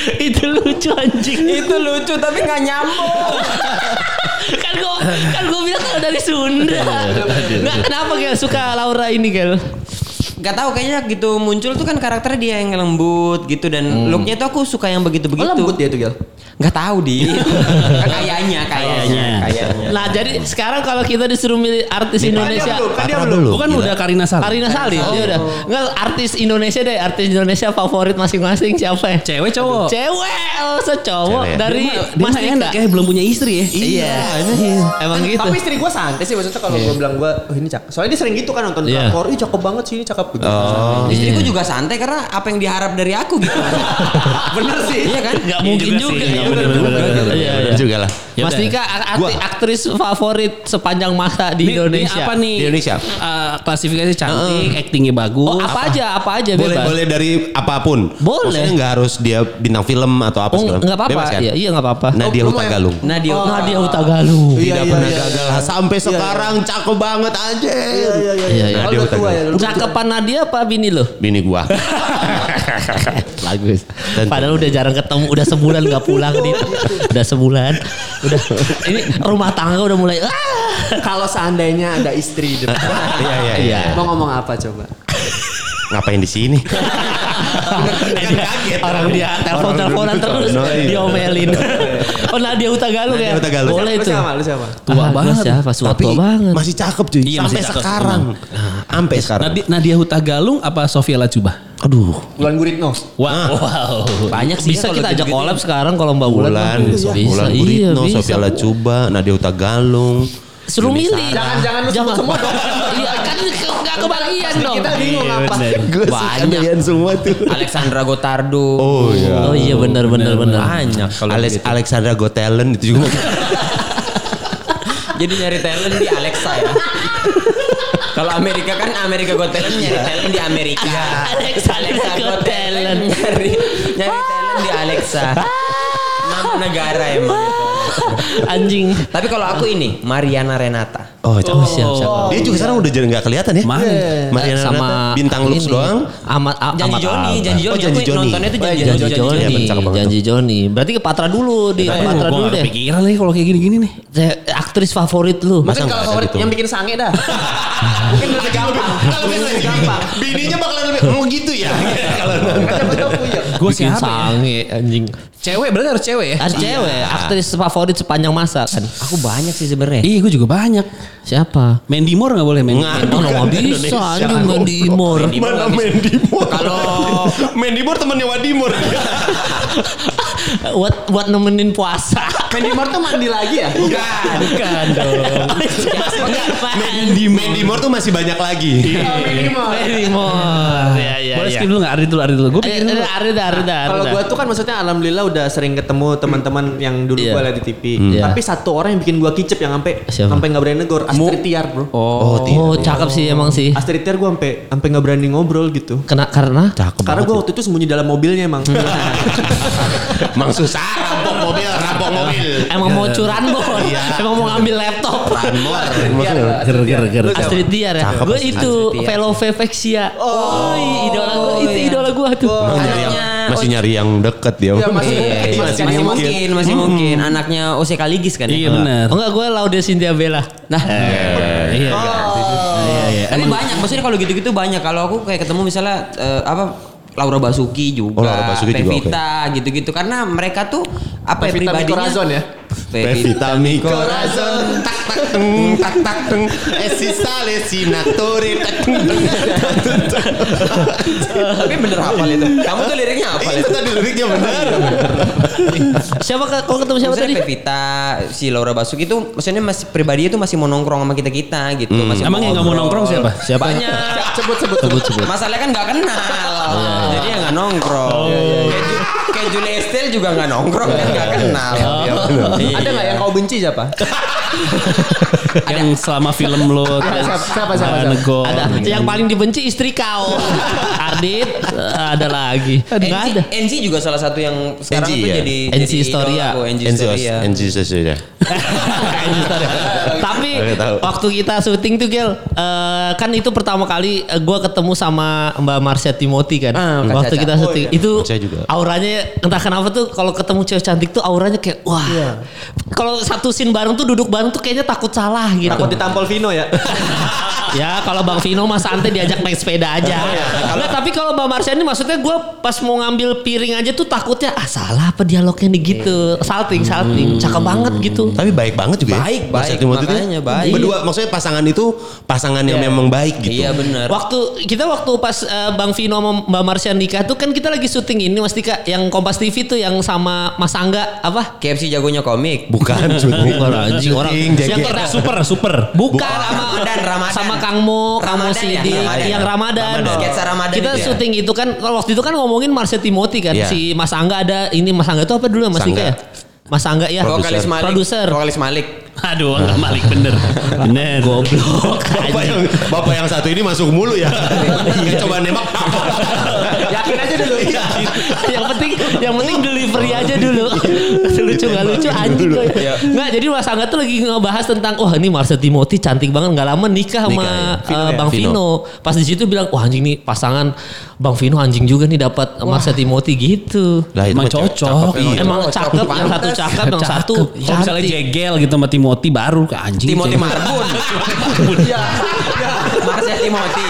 Itu lucu tapi nggak nyambung. kan gue bilang kalau dari Sunda. Nggak, kenapa Gel suka Laura ini Gel? Gak tahu kayaknya gitu muncul tuh kan karakternya dia yang lembut gitu dan looknya tuh aku suka yang begitu-begitu. Lembut dia tuh Gel. Gak tahu di. Kayaknya. Nah jadi sekarang kalau kita disuruh milih artis Indonesia, Bukan udah Karina Salim. Dia udah. Enggak artis Indonesia favorit masing-masing siapa ya? Cewek cowok. Cowok dari Mas Dika. Kayak belum punya istri ya. Iya. Emang gitu. Tapi istri gue santai sih maksudnya kalau gue bilang gue ini cakep. Soalnya dia sering gitu kan nonton drakor, ih cakep banget sih ini cakep gitu. Istriku juga santai karena apa yang diharap dari aku gitu. Bener sih. Iya kan? Gak mungkin juga. Bener juga lah. Mas Dika aktris favorit sepanjang masa di Indonesia. Apa nih? Di Indonesia. Klasifikasi cantik, actingnya bagus. Oh, apa aja bebas. Boleh dari apapun. Boleh. Maksudnya nggak harus dia bintang film atau apa segala. Enggak apa-apa. Bebas kan? Iya enggak apa-apa. Nadia Hutagalung. Nadia Hutagalung. Tidak pernah gagal sampai sekarang cakep banget aja. Iya. Nadia Hutagalung. Cakepan Nadia apa bini lo? Bini gua. Bagus. Padahal udah jarang ketemu, udah sebulan nggak pulang nih. Udah sebulan. Udah ini rumah tangga udah mulai. Kalau seandainya ada istri di depan. Iya. Mau ngomong apa coba? Ngapain di sini? Orang dia telepon-teleponan terus diomelin. Oh Nadia Hutagalung ya? Nadia Hutagalung. Boleh itu. Lu siapa? Tua banget. Siapa? Tua banget. Masih cakep cuy. Iya, Sampai masih cakep. sekarang. Sampai sekarang. Nadia Hutagalung apa Sofia Lajuba? Aduh. Wulan Guritno. Wow. Banyak sih Bisa kalau kita ajak gitu-gitu. collab sekarang kalau Mbak Wulan. Wulan Guritno, Sofia Lajuba, Nadia Hutagalung. Suruh milih. Jangan lu sebut semua dong. Iya kan nggak kebagian dong. Kita bingung apa. Gue suka kalian semua tuh. Alexandra Gotardo. Oh iya. Oh iya benar. Banyak kalau gitu. Alexandra Got Talent itu juga. Jadi nyari talent di Alexa ya. Kalau Amerika kan Amerika Got Talent nyari talent di Amerika. Alexa Got Talent. nyari talent di Alexa. Nama negara emang. Anjing. Tapi kalau aku ini Mariana Renata. Oh, siap. Dia juga sekarang udah jadi nggak kelihatan ya? Mana? Mariana Sama Renata, bintang looks ini. doang. Janji Joni. Janji Aku Joni. nontonnya tuh Janji Janji Joni. Iya, bener, cakep banget Janji Joni. Berarti ke Patra dulu di Patra Gue dulu gak deh. kepikiran lagi kalau kayak gini-gini nih. Aktris favorit lu. Mungkin nggak kalau ada favorit gitu? yang bikin sange dah. Mungkin lebih gampang. Lebih gampang. Bininya bakalan lebih gitu ya. Kalau Kan betul punya. Gue Bikin siapa ya? sange anjing. Cewek berarti harus cewek ya? Ada cewek, aktris favorit sepanjang masa kan. Aku banyak sih sebenarnya. Iya gue juga banyak. Siapa? Mandy Moore gak boleh Mandy? Nggak bisa anjing Mandy Moore. Mana Mandy Moore? Kalau Mandy Moore temannya Wadimor. Buat nemenin puasa. Mandy Moore tuh mandi lagi ya? Bukan dong. Mandy Moore tuh masih banyak lagi. Mandy Moore. Mandy Moore. Ya. Boleh skip dulu gak? Ari dulu. Gue pikir dulu. Arida. Kalau gue tuh kan maksudnya alhamdulillah udah sering ketemu teman-teman yang dulu Iya. gue liat di TV. Iya. Tapi satu orang yang bikin gue kicep yang Siapa? sampai nggak berani negor, Astrid Tiar bro. Oh, cakep sih emang sih. Astrid Tiar gue sampai nggak berani ngobrol gitu. Karena Karena gue waktu itu sembunyi dalam mobilnya emang. Mang susah rampok Emang mau curanmor. Emang mau ngambil laptop. Ger. Astrid Tiar ya. Gue itu Velovexia. Oh, idola gue. Itu idola gue tuh. Masih nyari yang deket dia. Masih mungkin. Anaknya Ose Kaligis kan ya? Iya benar. Enggak, gue Laude Cynthia Bella. Nah. Iya. Tapi banyak, maksudnya kalau gitu-gitu banyak. Kalau aku kayak ketemu misalnya Laura Basuki juga, Pevita gitu-gitu. Karena mereka tuh apa ya pribadinya? Corazon ya. Pevita mi corazon tak esi sale sinatore. Tapi bener hafal itu. Kamu tuh liriknya hafal itu. Tadi liriknya benar. Siapa kalau ketemu siapa Maksudnya tadi? Pevita, si Laura Basuki itu maksudnya masih pribadinya tuh masih mau nongkrong sama kita gitu. Masih Emang yang nggak mau nongkrong siapa? Banyak. Sebut. Masalahnya kan nggak kenal. Jadi ya nggak nongkrong. Kayak Julia Estelle juga nggak nongkrong kan nggak kenal. Ada nggak yang kau benci siapa? Yang selama film lo Siapa? nego. Ada. Yang paling dibenci istri kau. Ardit. Ada lagi. Nggak ada. NC juga salah satu yang sekarang NC, tuh ya? jadi NC Historia. NC Historia. Tapi waktu kita syuting tuh Gel, kan itu pertama kali gue ketemu sama Mbak Marsha Timothy kan. Waktu kita syuting itu auranya entah kenapa tuh kalau ketemu cewek cantik tuh auranya kayak wah. Kalau satu scene bareng tuh duduk bareng tuh kayaknya takut salah gitu. Takut ditampol Vino ya. Ya kalau Bang Vino mah santai diajak naik sepeda aja. Nah, tapi kalau Mbak Marsha ini maksudnya gue pas mau ngambil piring aja tuh takutnya salah apa dialognya nih gitu. Salting. Cakep banget gitu. Tapi baik banget juga Baik, makanya baik. Berdua maksudnya pasangan itu pasangan yang memang baik gitu. Iya benar. Waktu pas Bang Vino sama Mbak Marsha nikah tuh kan kita lagi syuting ini Mas Dika yang Kompas TV tuh yang sama Mas Angga apa? KFC jagonya komik. Bukan Anjing orang yang kita super. bukan sama Kang Mo, Sidi yang Ramadan. Sketsa Ramadan Kita itu ya? syuting itu kan waktu itu kan ngomongin Marsha Timothy kan si Mas Angga ada ini Mas Angga itu apa dulu Mas Dika ya? Mas Angga ya. Produser. Vokalis Malik. Aduh, enggak Malik bener. Goblok. Bapak yang satu ini masuk mulu ya. Coba nembak. Yakin aja dulu. yang penting delivery aja dulu. Lucu nggak lucu anjing gue. Nggak, jadi Mas Angga tuh lagi ngebahas tentang wah ini Marsha Timothy cantik banget nggak lama nikah sama Bang Vino. Pas di situ bilang wah anjing nih pasangan Bang Vino anjing juga nih dapat Marsha Timothy gitu. Lah itu Emang cocok. Emang cakep, yang satu cakep, yang satu Kalau misalnya jegel gitu sama Timothy baru ke anjing. Timothy Marbun. Iya. Marsha Timothy.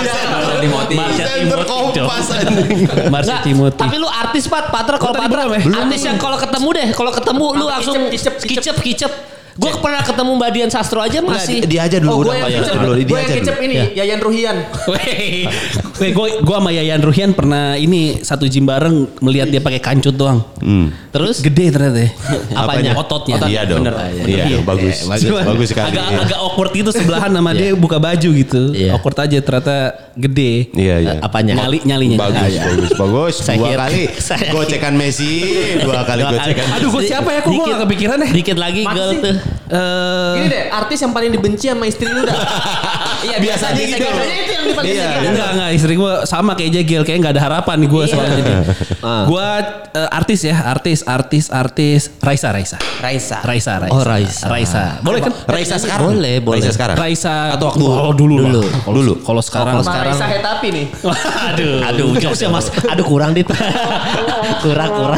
Marsha Timothy. Tapi lu artis Patra kalau Patra artis yang kalau ketemu lu langsung kicep. Gue pernah ketemu Mbak Dian Sastro aja masih. Dia aja dulu. Gue yang kecep ini Yayan Ruhian. Gue sama Yayan Ruhian pernah ini satu gym bareng melihat dia pakai kancut doang. Terus Gede ternyata ya. Apanya? Ototnya. Iya dong. Iya bagus. Bagus sekali. Agak awkward gitu sebelahan sama dia buka baju gitu. Awkward aja ternyata gede. Iya. Apanya? Nyalinya. Bagus. Dua kali gocekan Messi. Dua kali gocekan. Aduh gue siapa ya? Kok gue gak kepikiran ya? Dikit lagi girl tuh. Ini deh artis yang paling dibenci sama istri lu dah. Iya biasanya gitu. Biasanya itu yang paling dibenci. Enggak istri gue sama kayak Jegel kayak nggak ada harapan nih gue soalnya jadi. Gue artis ya artis Raisa. Oh Raisa. Boleh kan? Raisa sekarang. Boleh. Raisa sekarang. Raisa Atau waktu dulu. Kalau sekarang. Raisa Hetapi nih. Aduh, jokesnya Mas. Aduh kurang dit. kurang.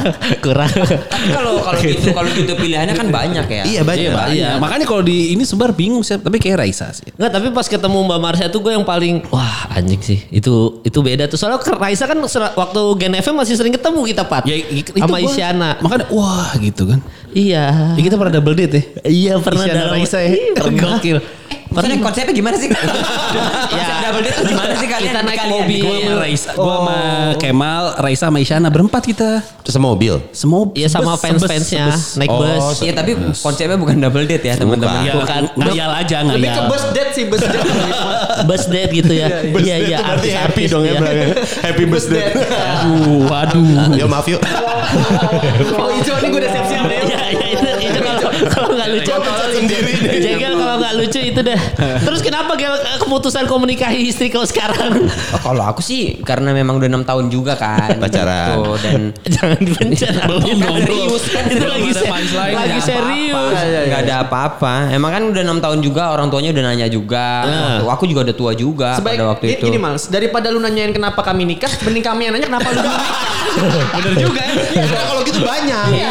Kalau gitu pilihannya kan banyak ya. Iya banyak. Iya. Makanya kalau di ini sebar bingung sih. Tapi kayak Raisa sih. Enggak, tapi pas ketemu Mbak Marsha tuh gue yang paling wah anjing sih. Itu beda tuh. Soalnya Raisa kan waktu Gen FM masih sering ketemu kita Pat. Ya, sama Isyana. Makanya wah gitu kan. Iya. Ya, kita pernah double date ya. Iya pernah Isyana Raisa ya. Gokil. Maksudnya konsepnya gimana sih? Konsep double date tuh gimana sih kalian? Kita naik mobil. Gue sama Kemal, Raisa sama Isyana berempat kita. Semobil. Iya sama fans-fansnya naik bus. Iya tapi konsepnya bukan double date ya teman-teman. Bukan. Ngayal aja Lebih ke bus date sih bus date. Bus date gitu ya. Iya Berarti happy dong ya. Happy birthday. Aduh. Ya maaf yuk. Oh itu nih gue udah siap-siap deh. Iya itu Kalau nggak lucu Jegel kalau nggak lucu itu deh. Terus kenapa Gel keputusan kau menikahi istri kau sekarang? Oh, kalau aku sih karena memang udah 6 tahun juga kan. Pacaran. Gitu, dan Jangan dipencet. Belum dong, serius kan Itu belum lagi ada lagi Nggak serius. apa-apa. Nggak ada apa-apa. Emang kan udah 6 tahun juga, orang tuanya udah nanya juga. Aku juga udah tua juga pada waktu itu. Ini Mals, daripada lu nanyain kenapa kami nikah, mending kami yang nanya kenapa lu nikah. Bener juga ya. Karena kalau gitu banyak. Iya.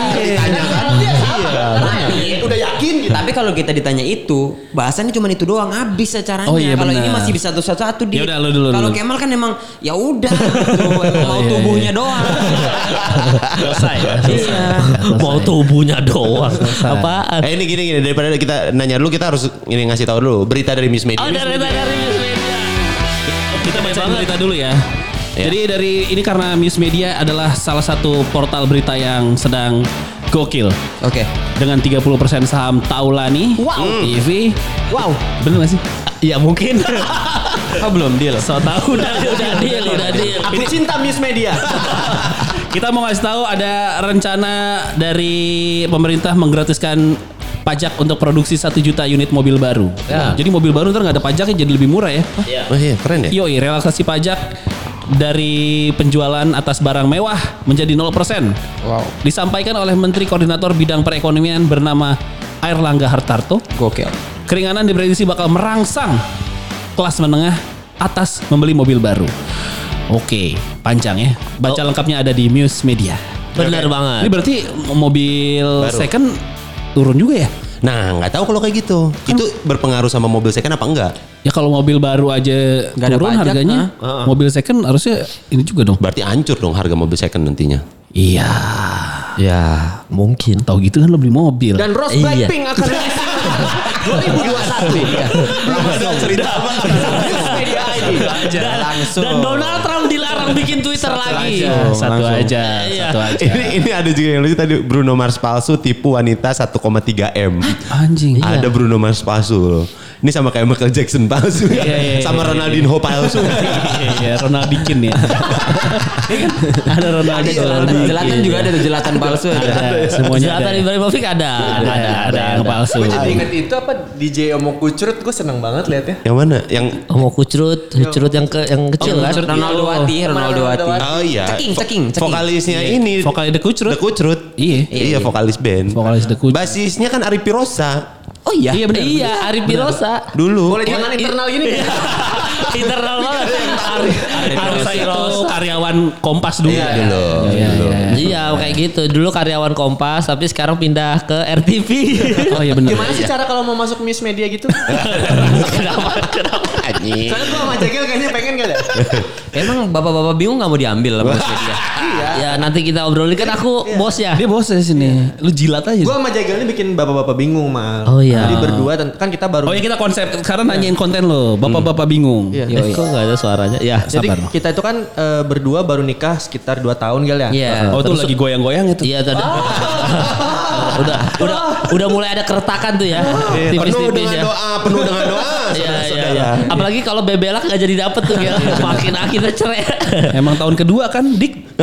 Udah yakin gitu. Tapi kalau kita ditanya itu, bahasannya cuma itu doang, habis acaranya. Oh, iya, Kalau ini benar. masih bisa satu-satu di. Ya udah, lu dulu, Kalau dulu. Kemal kan emang ya udah gitu, emang mau tubuhnya doang. Selesai. Iya. Mau tubuhnya doang. Apaan? Ini gini daripada kita nanya dulu kita harus ini ngasih tahu dulu berita dari Miss Media. Oh dari News Media. Kita baca berita dulu ya. Ya. Jadi dari ini karena News Media adalah salah satu portal berita yang sedang gokil. Oke. Dengan 30% saham Taulani TV. Wow. Bener gak sih? Ya mungkin. Oh belum deal. So tahu udah deal. Aku cinta Miss Media. Kita mau ngasih tahu ada rencana dari pemerintah menggratiskan pajak untuk produksi 1 juta unit mobil baru. Ya. Jadi mobil baru ntar nggak ada pajaknya jadi lebih murah ya. Oh iya keren ya. Yoi, relaksasi pajak dari penjualan atas barang mewah menjadi 0%. Wow. Disampaikan oleh Menteri Koordinator Bidang Perekonomian bernama Airlangga Hartarto. Gokil. Keringanan diprediksi bakal merangsang kelas menengah atas membeli mobil baru. Oke, panjang ya. Baca lengkapnya ada di News Media. Benar banget. Ini berarti mobil Baru. second turun juga ya? Nah nggak tahu kalau kayak gitu. Itu berpengaruh sama mobil second apa enggak? Ya kalau mobil baru aja Nggak ada turun pajak, harganya, mobil second harusnya ini juga dong. Berarti hancur dong harga mobil second nantinya. Iya. Ya mungkin. Tahu gitu kan lo beli mobil. Dan Rose Iya. Blackpink akan rilis 2021. Belum ada cerita apa. News Media ID. Dan Donald Trump dilarang bikin Twitter lagi. Satu aja. Iya. Ini ada juga yang lucu tadi Bruno Mars palsu tipu wanita 1,3 M. Anjing. Ada Bruno Mars palsu loh. Ini sama kayak Michael Jackson palsu. Iya, Sama Ronaldinho palsu. Iya, Ronaldikin ya. Ada Ronaldikin. Jelatan juga ada tuh, jelatan palsu ada. Semuanya Zlatan ada. Ibrahimovic ada Ada yang palsu. Gue jadi inget itu apa DJ Omo Kucrut, gue seneng banget liatnya. Yang mana? Yang Mau kucrut yang kecil kan? Ronaldo Wati. oh iya. Ceking. Vokalisnya ini. Vokalis The Kucrut. The Kucrut. Iya. Iya vokalis band. Vokalis The Kucrut. Basisnya kan Ari Pirosa. Oh iya. Iya benar. Iya, Ari Pirosa. Dulu. Boleh jangan internal gini. Internal banget. Pirosa itu karyawan Kompas dulu. Iya, dulu. Iya kayak gitu. Dulu karyawan Kompas tapi sekarang pindah ke RTV. Oh iya benar. Gimana sih cara kalau mau masuk Miss Media gitu? Kenapa? Anjing. Soalnya gue sama Jegel kayaknya pengen gak ya? Emang bapak-bapak bingung gak mau diambil sama Miss Media? Ya nanti kita obrolin kan aku bosnya. Dia bos di sini. Lu jilat aja. Gue sama Jegel ini bikin bapak-bapak bingung mal. Oh, iya. Jadi berdua kan kita baru. Oh ya kita konsep sekarang nanyain konten lo. Bapak-bapak bingung. Iya. Kok gak ada suaranya? Ya. Jadi sabar. kita itu kan berdua baru nikah sekitar 2 tahun Gel ya. Iya. Oh itu lagi goyang-goyang itu. Iya tadi. Udah mulai ada keretakan tuh ya. Penuh Tipis-tipis dengan ya. doa, penuh dengan doa. Iya. Apalagi kalau bebelak gak jadi dapet tuh ya. Makin akhirnya cerai. Emang tahun kedua kan Dik.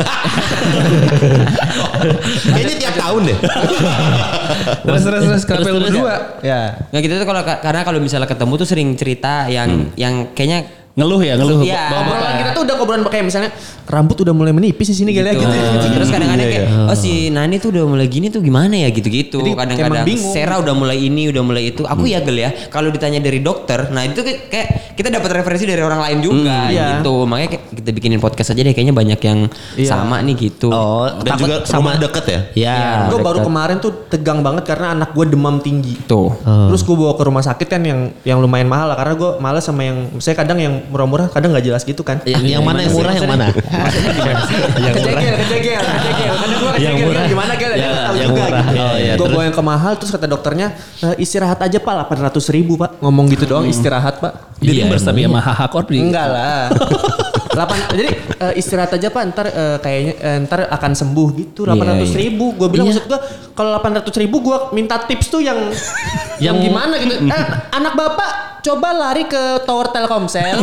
Kayaknya tiap tahun deh. Terus kenapa lu Terus, berdua? Ya. Nggak gitu tuh karena kalau misalnya ketemu tuh sering cerita yang kayaknya Ngeluh ya, ngeluh. Iya. Obrolan kita tuh udah obrolan kayak misalnya rambut udah mulai menipis di sini Gel ya gitu. Terus kadang-kadang kayak oh si Nani tuh udah mulai gini tuh gimana ya gitu-gitu. Jadi Kadang-kadang emang bingung. Sera udah mulai ini, udah mulai itu. Aku ya Gel ya, kalau ditanya dari dokter, nah itu kayak kita dapat referensi dari orang lain juga iya. gitu. Makanya kita bikinin podcast aja deh, kayaknya banyak yang sama nih gitu. Oh, Dan juga rumah deket ya. Ya. Gue baru kemarin tuh tegang banget karena anak gue demam tinggi. Tuh. Terus gue bawa ke rumah sakit kan yang lumayan mahal lah karena gue males sama yang saya kadang yang murah-murah kadang nggak jelas gitu kan. Yang mana yang murah yang mana? Kejegel. Karena gue Yang kejegel murah. gimana Gel ya tahu yang juga murah. gitu. Oh, iya, Gue terus? bawa yang ke mahal terus kata dokternya istirahat aja Pak 800.000 Pak. Ngomong gitu doang istirahat Pak. Jadi bersabi sama HH Corp. Enggak lah. Jadi istirahat aja Pak ntar kayaknya ntar akan sembuh gitu 800.000. Gue bilang maksud gue kalau 800.000 gue minta tips tuh yang gimana gitu. Anak bapak coba lari ke tower Telkomsel.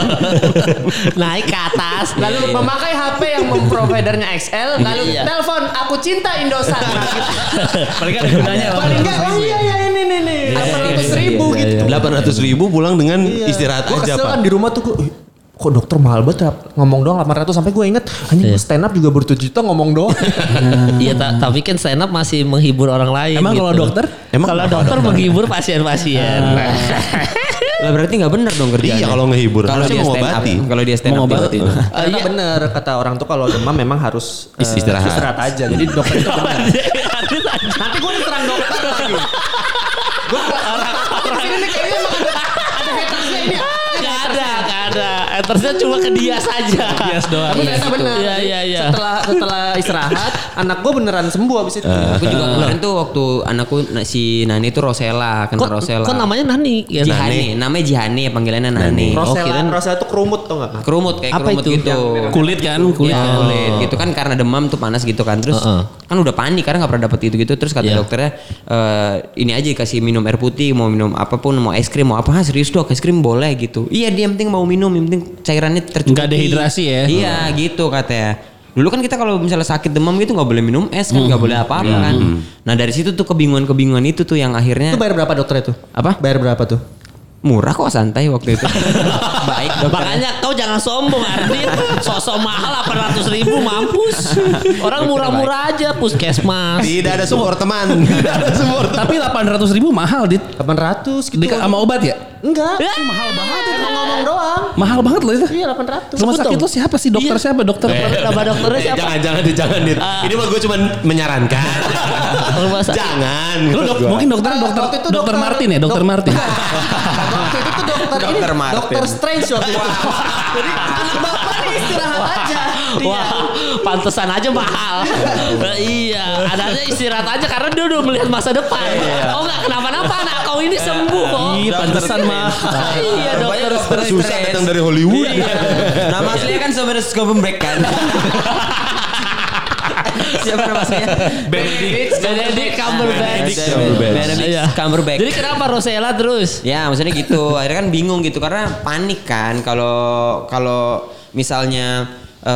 Naik ke atas. Lalu memakai HP yang memprovidernya XL. Lalu telepon, aku cinta Indosat. Paling ada gunanya. Paling enggak, oh iya ini nih. 800.000 gitu. 800.000 pulang dengan istirahat Gue aja kesel Pak. kan di rumah tuh gue, kok dokter mahal banget ya? Ngomong doang 800 sampai gue inget anjing stand up juga ber-7 juta ngomong doang. Iya, tapi kan stand up masih menghibur orang lain. Emang kalau dokter? Kalau dokter menghibur pasien-pasien. Lah berarti nggak benar dong kerjanya. Iya kalau ngehibur. Kalau Harusnya dia stand up, mengobati. kalau dia stand up Mengobati. Ternyata bener kata orang tuh kalau demam memang harus istirahat aja. Jadi dokter itu benar. Nanti gue diserang dokter lagi. Gue orang ini kayaknya emang ada hatersnya ini. Gak ada. Hatersnya cuma ke dia saja. Bias doang. Tapi ternyata benar. Iya. Setelah istirahat, anak gue beneran sembuh abis itu. Aku juga kemarin tuh waktu anakku si Nani tuh Rosella, kena Rosella. Kok namanya Nani? Ya, Jihani, namanya Jihani, panggilannya Nani. Rosella itu kerumut tau gak? Kerumut kayak Apa kerumut itu? gitu. Kulit kan, kulit. Ya, kulit gitu kan karena demam tuh panas gitu kan. Terus kan udah panik karena nggak pernah dapet gitu terus kata dokternya ini aja kasih minum air putih, mau minum apapun, mau es krim, mau apa. Serius dok, es krim boleh gitu. Iya dia yang penting mau minum, yang penting cairannya tercukupi. Nggak dehidrasi ya? Iya gitu katanya. Dulu kan kita kalau misalnya sakit demam gitu nggak boleh minum es kan, nggak boleh apa-apa kan. Nah dari situ tuh kebingungan itu tuh yang akhirnya. Itu bayar berapa dokter itu? Apa? Bayar berapa tuh? Murah kok, santai waktu itu. Baik dokter. Makanya kau jangan sombong Ardin. Sosok mahal 800.000 mampus. Orang murah-murah aja puskesmas. Tidak ada support teman. Tidak ada support. Tapi 800.000 mahal dit. 800 gitu. Sama obat ya? Enggak. Mahal banget. Emang ngomong doang. Mahal banget loh itu. Iya 800. Rumah sakit lo siapa sih? Dokter siapa? Dokter Nama dokternya siapa? Jangan dit. Ini mah gue cuma menyarankan. Jangan. Lu mungkin dokternya dokter Martin ya, dokter Martin. Waktu itu tuh dokter ini Dokter Martin. dokter Strange waktu itu. Jadi anak bapak nih istirahat aja. Wah, pantesan aja mahal. Iya, adanya istirahat aja karena dia udah melihat masa depan. Oh enggak kenapa-napa, anak kau ini sembuh kok. Iya, pantesan mahal. Iya, dokter Susah datang dari Hollywood. Nama aslinya kan sebenarnya Scumberbatch kan. Siapa nama aslinya? Benedict Cumberbatch. Benedict Cumberbatch. Jadi kenapa Rosella terus? Ya maksudnya gitu. Akhirnya kan bingung gitu karena panik kan kalau misalnya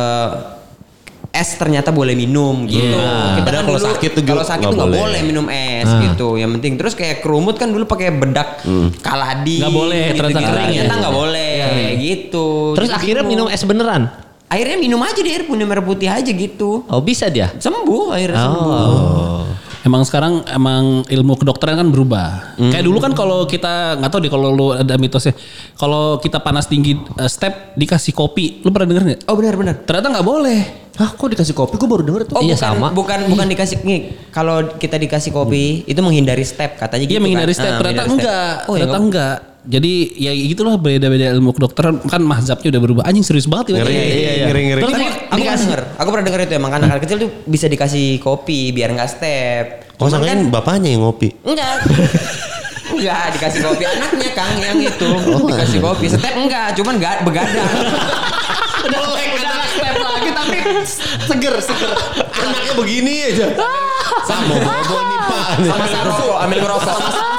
es ternyata boleh minum gitu. Kita Padahal kan kalau dulu sakit tuh kalau sakit tuh nggak nggak boleh. boleh minum es gitu. Yang penting terus kayak kerumut kan dulu pakai bedak kaladi. Nggak boleh, ternyata kering ya. Ternyata nggak boleh kayak gitu. Terus Jadi akhirnya bingung. minum es beneran? Akhirnya minum aja di air putih aja gitu. Oh bisa dia? Sembuh akhirnya sembuh. Emang sekarang ilmu kedokteran kan berubah. Kayak dulu kan kalau kita nggak tahu deh kalau lu ada mitosnya. Kalau kita panas tinggi step dikasih kopi, lu pernah denger nggak? Oh benar-benar. Ternyata nggak boleh. Hah kok dikasih kopi? Gue baru denger tuh. Oh Iya, bukan, sama. bukan dikasih nih. Kalau kita dikasih kopi itu menghindari step katanya gitu. Iya menghindari kan. step. Ah, Ternyata menghindari enggak. step. Oh, ya, Ternyata enggak. Jadi ya gitulah beda-beda ilmu kedokteran kan mazhabnya udah berubah. Anjing serius banget ya. Ngeri. Terus aku pernah denger itu emang anak kecil tuh bisa dikasih kopi biar nggak step. Oh Cuman sangkain bapaknya yang ngopi. enggak. Enggak dikasih kopi anaknya Kang yang itu. Dikasih kopi. Step enggak, cuman enggak begadang. Udah step lagi tapi seger. Anaknya begini aja. Sama bobo nih Pak. Sama Samsu ambil ngerokok.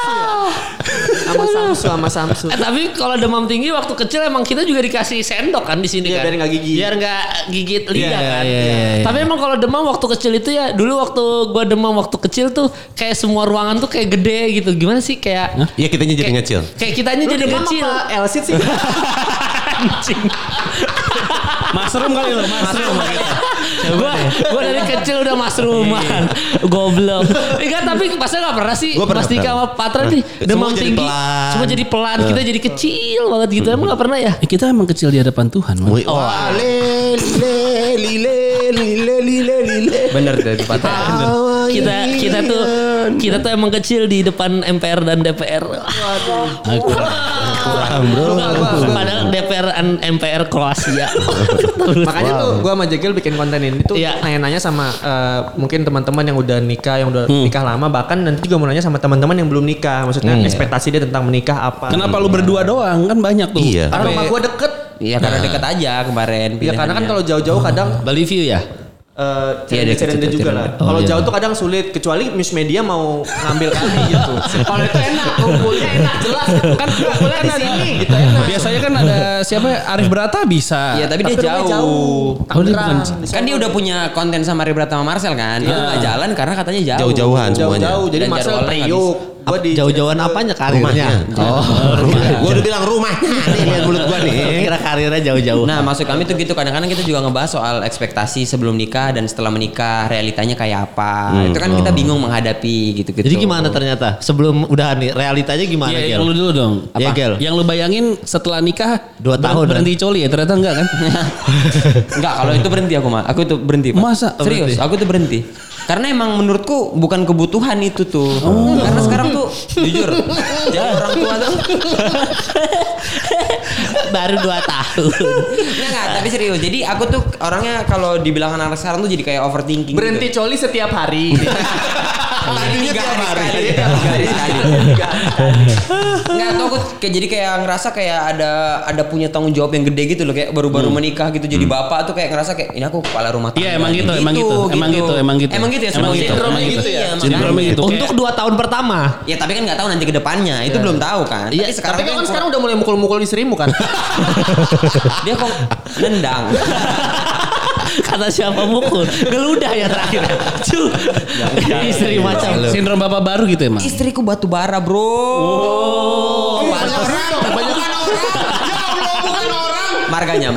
Sama Samsu. Tapi kalau demam tinggi waktu kecil emang kita juga dikasih sendok kan di sini Iya, kan. biar nggak gigit. Biar nggak gigit lidah kan. iya. Tapi emang kalau demam waktu kecil itu ya dulu waktu gua demam waktu kecil tuh kayak semua ruangan tuh kayak gede gitu. Gimana sih kayak Iya kitanya jadi ngecil. kayak kitanya jadi kecil. Elsit sih. Anjing. Mushroom kali lo, mushroom. Gua dari kecil udah masruman. Goblok. Enggak tapi pasnya enggak pernah sih. Gua pernah, Mas Dika sama Patra nih demam Semua jadi tinggi. pelan. Semua jadi pelan. Kita jadi kecil banget gitu. Emang enggak pernah ya? Kita emang kecil di hadapan Tuhan. Man. Wah, lile. Bener dari patah. Kita tuh emang kecil di depan MPR dan DPR. Kurang bro. Padahal DPR dan MPR Kroasia. Makanya tuh gue sama Jegel bikin konten ini tuh Iya. nanya-nanya sama mungkin teman-teman yang udah nikah, yang udah nikah lama, bahkan nanti juga mau nanya sama teman-teman yang belum nikah. Maksudnya ekspektasi dia tentang menikah apa. Kenapa lu berdua doang? Kan banyak tuh. Iya. Karena rumah gue deket. Iya karena dekat aja kemarin. Iya karena kan kalau jauh-jauh kadang Bali View ya? challenge juga lah. Kalau jauh tuh kadang sulit, kecuali news media mau ngambil kami gitu. Kalau itu enak, kumpulnya enak jelas gitu. Kan kumpulnya di sini gitu enak. Biasanya kan ada siapa Arif Brata bisa. Iya, tapi dia jauh. Tangerang. Kan dia udah punya konten sama Arif Brata sama Marcel kan. Itu nggak jalan karena katanya jauh. Jauh-jauhan semuanya. Jauh-jauh. Jadi Dan Marcel jadwalnya nggak Priuk. Gua di Jauh-jauhan apanya karirnya? Gue udah bilang rumahnya nih, lihat mulut gue nih. Kira karirnya jauh-jauh. Nah, maksud kami tuh gitu, kadang-kadang kita juga ngebahas soal ekspektasi sebelum nikah dan setelah menikah, realitanya kayak apa. Itu kan kita bingung menghadapi gitu-gitu. Jadi gimana ternyata sebelum udah nih realitanya gimana Iya, Gel? lu dulu dong. Iya, Gel. Yang lu bayangin setelah nikah 2 tahun, berhenti coli ya? Ternyata enggak kan? Enggak, kalau itu berhenti aku mah. Aku tuh berhenti, Pak. Masa? Serius, aku tuh berhenti. Karena emang menurutku bukan kebutuhan itu tuh. Karena sekarang tuh jujur jadi orang tua tuh Baru 2 tahun. enggak, tapi serius. Jadi aku tuh orangnya kalau dibilang anak sekarang tuh jadi kayak overthinking. berhenti coli setiap hari. Tadinya tiap hari. Enggak tuh aku jadi kayak ngerasa kayak ada punya tanggung jawab yang gede gitu loh, kayak baru-baru menikah gitu jadi bapak tuh kayak ngerasa kayak ini aku kepala rumah tangga. Iya, emang gitu. Emang gitu ya semua gitu. Sindromnya gitu ya. Sindromnya gitu. Untuk 2 tahun pertama. Ya tapi kan nggak tahu nanti ke depannya. Itu belum tahu kan. Iya, Tapi kan sekarang udah mulai mukul-mukul istrimu kan. dia kok nendang. Kata siapa mukul? Geludah ya terakhir. Cu. Istri macam. Sindrom bapak baru gitu emang. Istriku batu bara, Bro. Oh, pantas. Marganya.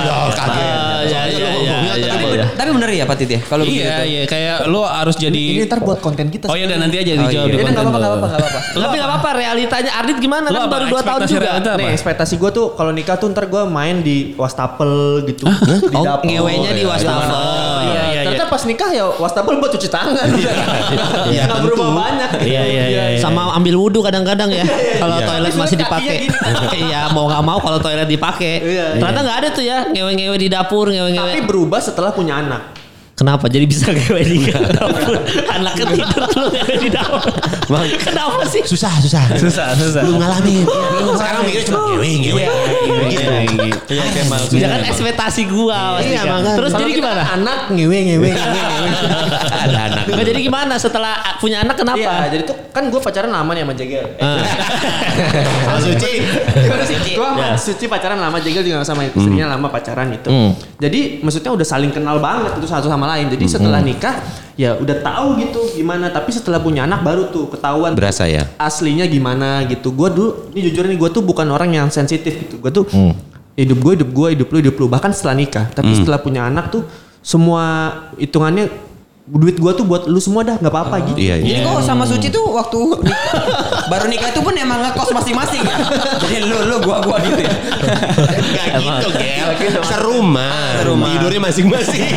Tapi bener ya Pak Tit ya? Kalau begitu. Iya, kayak lo harus jadi. Ini ntar buat konten kita. Oh iya, dan nanti aja dijawab di Ini konten. enggak apa-apa. Tapi enggak apa-apa realitanya Ardit gimana Lo kan apa? baru 2 tahun Ekspektasi juga. realita apa? Nih ekspektasi gue tuh kalau nikah tuh ntar gue main di wastafel gitu. Di Oh, dapur. ngewenya di wastafel. Iya. Ternyata pas nikah ya wastafel buat cuci tangan. Iya, Nggak berubah banyak. Iya. Sama ambil wudhu kadang-kadang ya. Kalau Iya. toilet masih dipakai. Iya, mau nggak mau kalau toilet dipakai. Iya. Ternyata nggak ada tuh ya ngewe-ngewe di dapur, Tapi ngewe-ngewe. berubah setelah punya anak. Kenapa? Jadi bisa ngewe di dapur. Anaknya tidur lu ngewe di dapur. Kenapa sih? Susah. Susah. Belum ngalamin. Sekarang mikirnya cuma ngewe. Iya, Kemal. Ya kan ekspektasi gua. Iya, Mas. makanya. Terus Kalau jadi kita gimana? kan anak ngewe. Ada anak. Nggak jadi gimana setelah punya anak kenapa? Iya, jadi tuh kan gue pacaran lama nih sama Jegel. Sama Suci. Gue sama Suci pacaran lama, Jegel juga sama istrinya lama pacaran gitu. Jadi maksudnya udah saling kenal banget itu satu sama lain. Jadi setelah nikah ya udah tahu gitu gimana. Tapi setelah punya anak baru tuh ketahuan Berasa ya. aslinya gimana gitu. Gue dulu, ini jujur nih gue tuh bukan orang yang sensitif gitu. Gue tuh hidup lu. Bahkan setelah nikah. Tapi setelah punya anak tuh semua hitungannya duit gue tuh buat lu semua dah, nggak apa-apa gitu. Iya. Jadi kok sama Suci tuh waktu baru nikah itu pun emang ngekos masing-masing ya. Jadi lu gua gitu ya. Gak gitu, Gel. Serumah. Tidurnya masing-masing.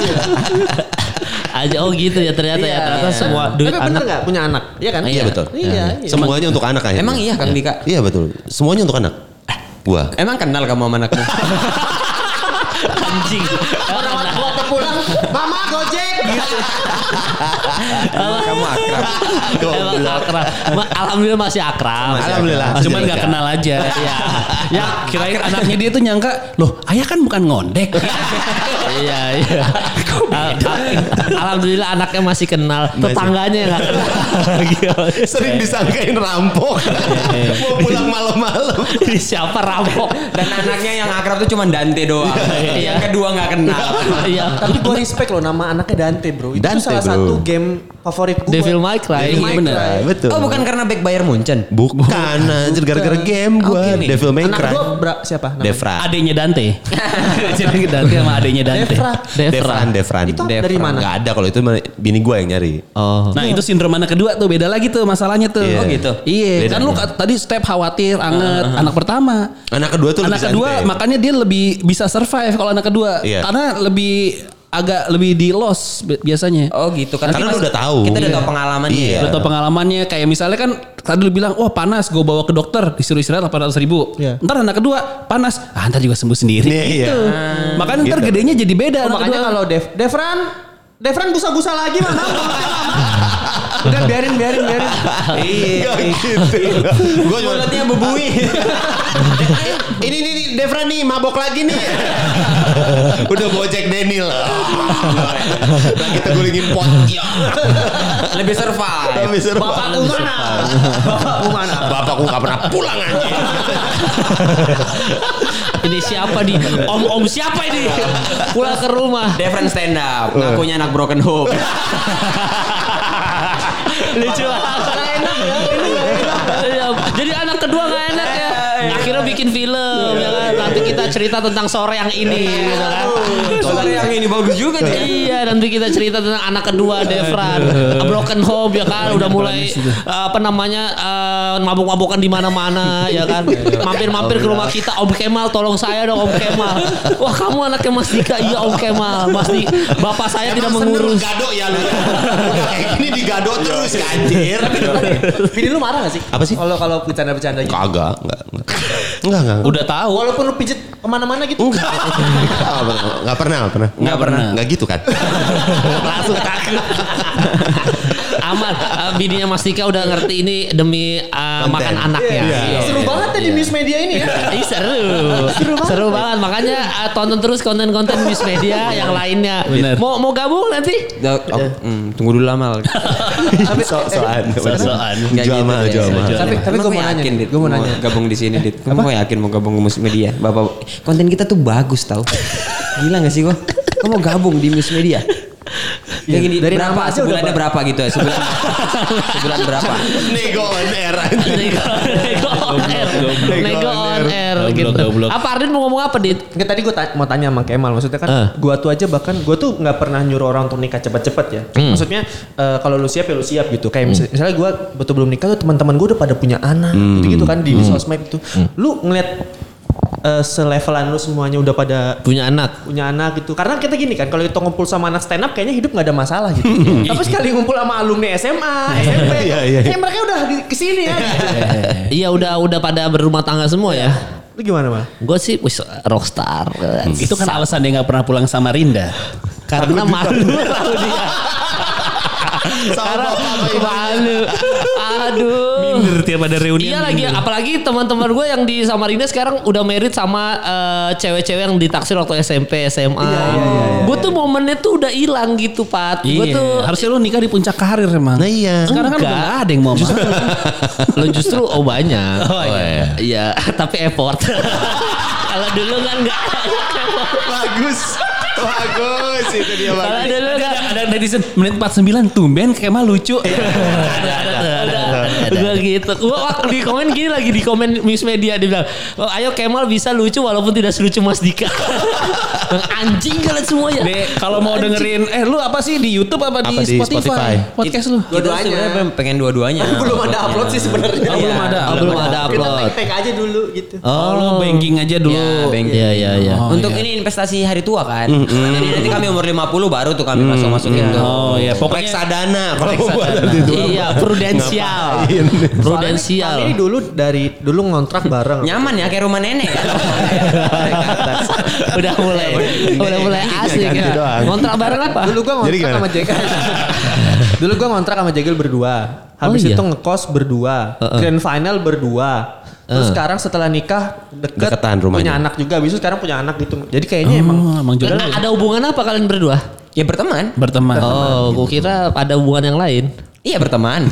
Aja gitu ya ternyata ya. Ternyata semua duit Tapi bener anak. nggak punya anak? Iya kan? Iya betul. Iya. Semuanya untuk anak akhirnya. Emang iya Kang Dika? Iya betul. Semuanya untuk anak. Gua. Emang kenal kamu sama anakmu? Anjing. Orang tua pulang, mama gojek gitu. Kamu akrab. Emang akrab. Alhamdulillah masih akrab. Alhamdulillah. Cuman gak kenal aja. Iya. Ya kirain anaknya dia tuh nyangka, loh ayah kan bukan ngondek. Iya. Alhamdulillah anaknya masih kenal. Tetangganya yang nggak kenal. Sering disangkain rampok. Mau pulang malam-malam. Ini siapa rampok? Dan anaknya yang akrab tuh cuma Dante doang. Yang kedua nggak kenal. Iya. Tapi gue respect loh nama anaknya Dante bro. Itu Dante, salah bro. satu game favorit gue. Devil May Cry. Devil May bener. Cry. Betul. Oh bukan karena back Bayern Munchen? Bukan, anjir gara-gara game gua. Oke nih. Devil May Anak Cry. gue siapa namanya? Devra. Adenya Dante. Jadi Dante sama adenya Dante. Devran. Itu dari mana? Gak ada kalau itu mah bini gua yang nyari. Oh. Nah itu sindrom anak kedua tuh beda lagi tuh masalahnya tuh. Iya. Oh gitu? Iya, Beda. kan lu tadi step khawatir, anget, anak pertama. Anak kedua tuh Anak lebih kedua santai. makanya dia lebih bisa survive kalau anak kedua. Iya. Karena agak lebih di loss biasanya. Oh gitu kan? Karena lu udah tahu. Kita udah tahu pengalamannya. Iya. ya. Udah tau pengalamannya kayak misalnya kan tadi lu bilang wah panas gue bawa ke dokter disuruh istirahat 800.000. Iya. Ntar anak kedua panas ntar juga sembuh sendiri Iya, gitu. iya. Makanya ntar Gitu. gedenya jadi beda. Oh, anak makanya kedua. kalau Devran busa-busa lagi mama. Udah biarin. Iya gitu. Gue Mulutnya bebui. ini Devra nih mabok lagi nih. Udah bawa Jack Daniel. Lagi tegulingin pot. Ya. Lebih survive. Bapakku mana? Bapakku gak pernah pulang aja. Ini siapa nih? Om siapa ini? Pulang ke rumah. Different stand up. Ngakunya anak broken home. Lucu banget. Enak ya. Jadi anak kedua gak enak ya. Akhirnya bikin film ya kan. Nanti kita cerita tentang sore yang ini gitu kan. Sore yang ini bagus juga nih. Iya, nanti kita cerita tentang anak kedua Devran, broken home ya kan, udah mulai mabuk-mabukan di mana-mana ya kan. Mampir-mampir ke rumah kita, Om Kemal tolong saya dong Om Kemal. Wah, kamu anaknya Mas Dika. Iya Om Kemal. Bapak saya tidak mengurus. Gado ya lu. Kayak gini digado terus anjir. Bini lu marah gak sih? Apa sih? Kalau bercanda-bercanda gitu. Kagak, enggak. Udah tahu. Walaupun lu pijet kemana-mana gitu. Enggak pernah. Enggak gitu kan. Langsung takut. Aman, bininya Mas Dika udah ngerti ini demi makan anaknya. Iya. Seru banget ya di Miss Media ini ya. Seru banget. Makanya tonton terus konten-konten Miss Media yang lainnya. Bener. Mau gabung nanti? Tunggu dulu lama. Tapi Soan. Jual mahal. Tapi gue mau nanya, Dit. Gue mau nanya. Gabung di sini, Dit. Kamu yakin mau gabung ke Miss Media? Bapak, konten kita tuh bagus tau. Gila gak sih gue? Kamu mau gabung di Miss Media? Kayak gini, dari berapa? nama aja Sebulannya udah berapa gitu ya? Sebulan berapa? Nego on air. Nego on air gitu. Goblok. Apa Ardin mau ngomong apa, Dit? Nggak, tadi gue mau tanya sama Kemal. Maksudnya kan gue tuh aja bahkan gue tuh nggak pernah nyuruh orang untuk nikah cepet-cepet ya. Maksudnya kalau lu siap ya lu siap gitu. Kayak misalnya gue betul belum nikah tuh teman-teman gue udah pada punya anak gitu kan di sosmed itu. Lu ngeliat selevelan lu semuanya udah pada Punya anak gitu. Karena kita gini kan, kalau kita ngumpul sama anak stand up kayaknya hidup nggak ada masalah gitu. Tapi sekali ngumpul sama alumni SMA, SMP, kayak mereka udah kesini ya. Iya udah pada berumah tangga semua ya. Lu gimana Mal? Gue sih rockstar. Itu kan alasan dia gak pernah pulang sama Rinda. Karena malu tahu dia. Karena malu. Aduh. Minder tiap ada reuni. Iya lagi, apalagi teman-teman gue yang di Samarinda sekarang udah married sama cewek-cewek yang ditaksir waktu SMP, SMA. Gue tuh momennya tuh udah hilang gitu, Pat. Gue Iya. tuh Harusnya lu nikah di puncak karir emang. Nah iya. Sekarang kan udah Enggak. gak ada yang mau. lo justru banyak. Oh, iya. Iya, tapi effort. Kalau dulu kan enggak. Bagus itu dia Kalau bagus. dulu kan Ada netizen menit 49 tumben Kemal lucu. Gue gitu. Gue waktu di komen gini lagi di komen Miss Media dia bilang, oh, ayo Kemal bisa lucu walaupun tidak selucu Mas Dika. Anjing kalian semua ya. Dek, kalau mau dengerin lu apa sih di YouTube apa di Apa di Spotify? Spotify? Podcast lu. Kita sebenarnya pengen dua-duanya. Belum ada upload sih sebenarnya. Oh, belum ada. Belum ada Kita upload. tag aja dulu gitu. Oh, lu banking aja dulu. Ya, banking. Iya. Oh, Untuk iya. ini investasi hari tua kan. Jadi nanti kami umur 50 baru tuh kami masukin tuh. Oh iya, pokoknya Reksadana kalau mau buat nanti itu. Iya, prudensial. Prudensial. Kami ini dulu ngontrak bareng. Nyaman ya kayak rumah nenek kan. udah mulai asik ganti ya. doang. Kontrak bareng apa? Dulu gua Jadi ngontrak gimana? sama Jegel. Dulu gua ngontrak sama Jegel berdua. Habis iya? itu ngekos berdua. Grand final berdua. Terus sekarang setelah nikah Deketan rumahnya. punya anak juga. Habis itu sekarang punya anak gitu. Jadi kayaknya emang jodoh. Ada hubungan apa kalian berdua? Ya berteman. Berteman. Oh, gua kira ada hubungan yang lain. Iya berteman.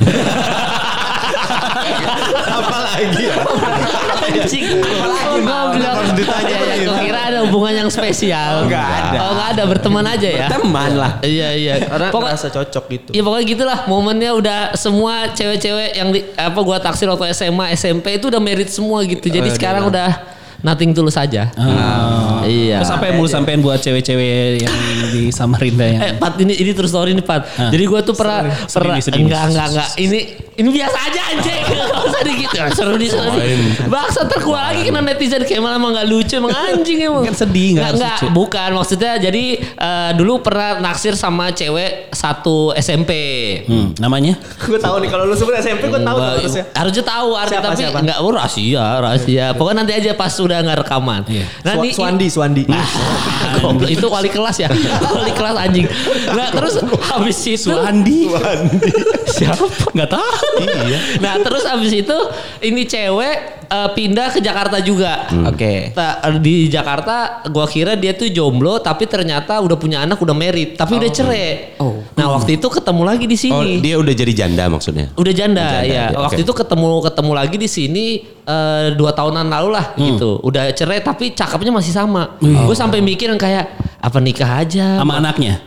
Apalagi ya. Anjing. Harus ditanya. Gua kira ada hubungan yang spesial. Enggak ada. Oh, enggak ada, berteman aja ya. Berteman lah. Iya. karena Pokok- merasa cocok gitu. Ya pokoknya gitulah momennya udah semua cewek-cewek yang gua taksir waktu SMA, SMP itu udah merit semua gitu. Jadi sekarang udah nothing tulus saja. Iya. Terus apa yang mau lu sampein buat cewek-cewek yang di Samarinda yang Pat ini terus story nih Pat. Jadi gue tuh pernah Sedih. enggak. Ini Ini biasa aja anjing. Gak usah dikit. Seru nih. Baksa terkeluar lagi kena netizen kayak malah emang gak lucu emang anjing emang. Kan sedih gak lucu. Bukan maksudnya jadi dulu pernah naksir sama cewek satu SMP. Namanya? Gue tahu nih kalau lu sebut SMP gue tahu harusnya. Harusnya tahu artinya tapi Siapa? enggak rahasia. Pokoknya nanti aja pas sudah enggak rekaman. Nanti Suandi. Goblok, itu wali kelas ya. Wali kelas anjing. Nah, terus habis itu Suandi. siapa? Enggak tahu. Iya. Nah, terus habis itu ini cewek pindah ke Jakarta juga. Oke. Di Jakarta gua kira dia tuh jomblo tapi ternyata udah punya anak, udah married, tapi udah cerai. Nah, waktu itu ketemu lagi di sini. Oh, dia udah jadi janda maksudnya. Udah janda ya. dia. Waktu Oke. itu ketemu lagi di sini 2 tahunan lalu lah gitu. Udah cerai tapi cakepnya masih sama. Gue sampai mikir kayak apa nikah aja Sama anaknya.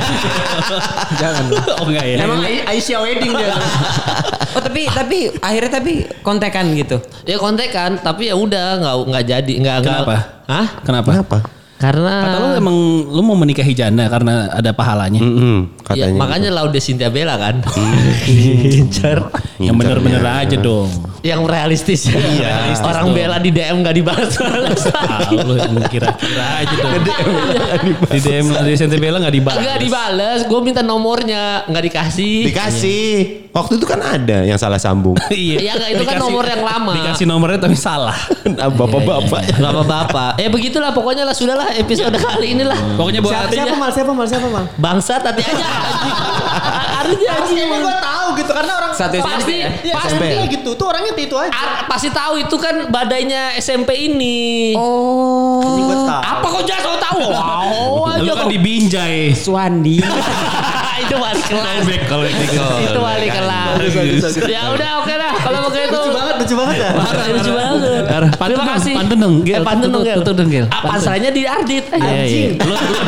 Jangan. Oh enggak ya. Emang Aisyah wedding dia. Oh tapi akhirnya kontekan gitu. Ya kontekan tapi ya udah nggak jadi Kenapa? Hah? Kenapa? Karena Kata lu emang lu mau menikahi janda karena ada pahalanya. ya, Katanya. makanya Laude Cynthia Bella kan. Incar. Yang bener-bener aja dong. Yang realistis. Iya, Orang Bella di DM nggak dibalas. Lu kira-kira aja dong. Di DM di Cynthia Bella enggak dibahas. Nggak dibales. Gue minta nomornya nggak dikasih. Dikasih. Waktu itu kan ada yang salah sambung. Iya nggak itu kan nomor yang lama. Dikasih nomornya tapi salah. Bapak-bapak. Bapak-bapak. Begitulah pokoknya lah sudahlah episode kali inilah. Pokoknya buat Siapa mal? Bangsa tadi aja. Harusnya anjing. Emang gue tahu gitu karena orang Satu Pasti SMP gitu. Tuh orangnya itu aja. pasti tahu itu kan badainya SMP ini. Ini gue tahu. Apa kok jangan tahu? Wow aja lu kan kok. dibinjai. Suandi. Itu wali kelas. Kalau Itu wali kelas. Ya udah oke lah kalau begitu. Lucu banget ya. Lucu banget. Terima kasih. Pantun dong, Gel. Pantun dong, Gel. Tutup dong, Gel. Pasarnya di Ardit. Anjing.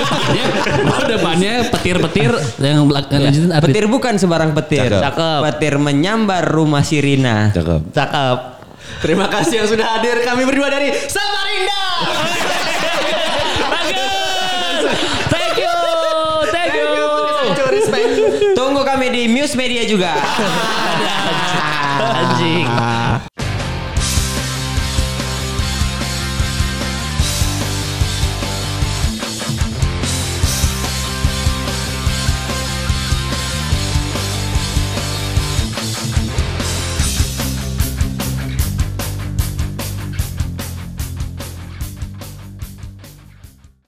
Lu depannya petir-petir yang lanjutin Ardit. Petir bukan sembarang petir. Cakep. Petir menyambar rumah Sirina. Cakep. Cakep. Terima kasih yang sudah hadir. Kami berdua dari Samarinda. Bagus. Thank you. Respect. Tunggu kami di Muse Media juga.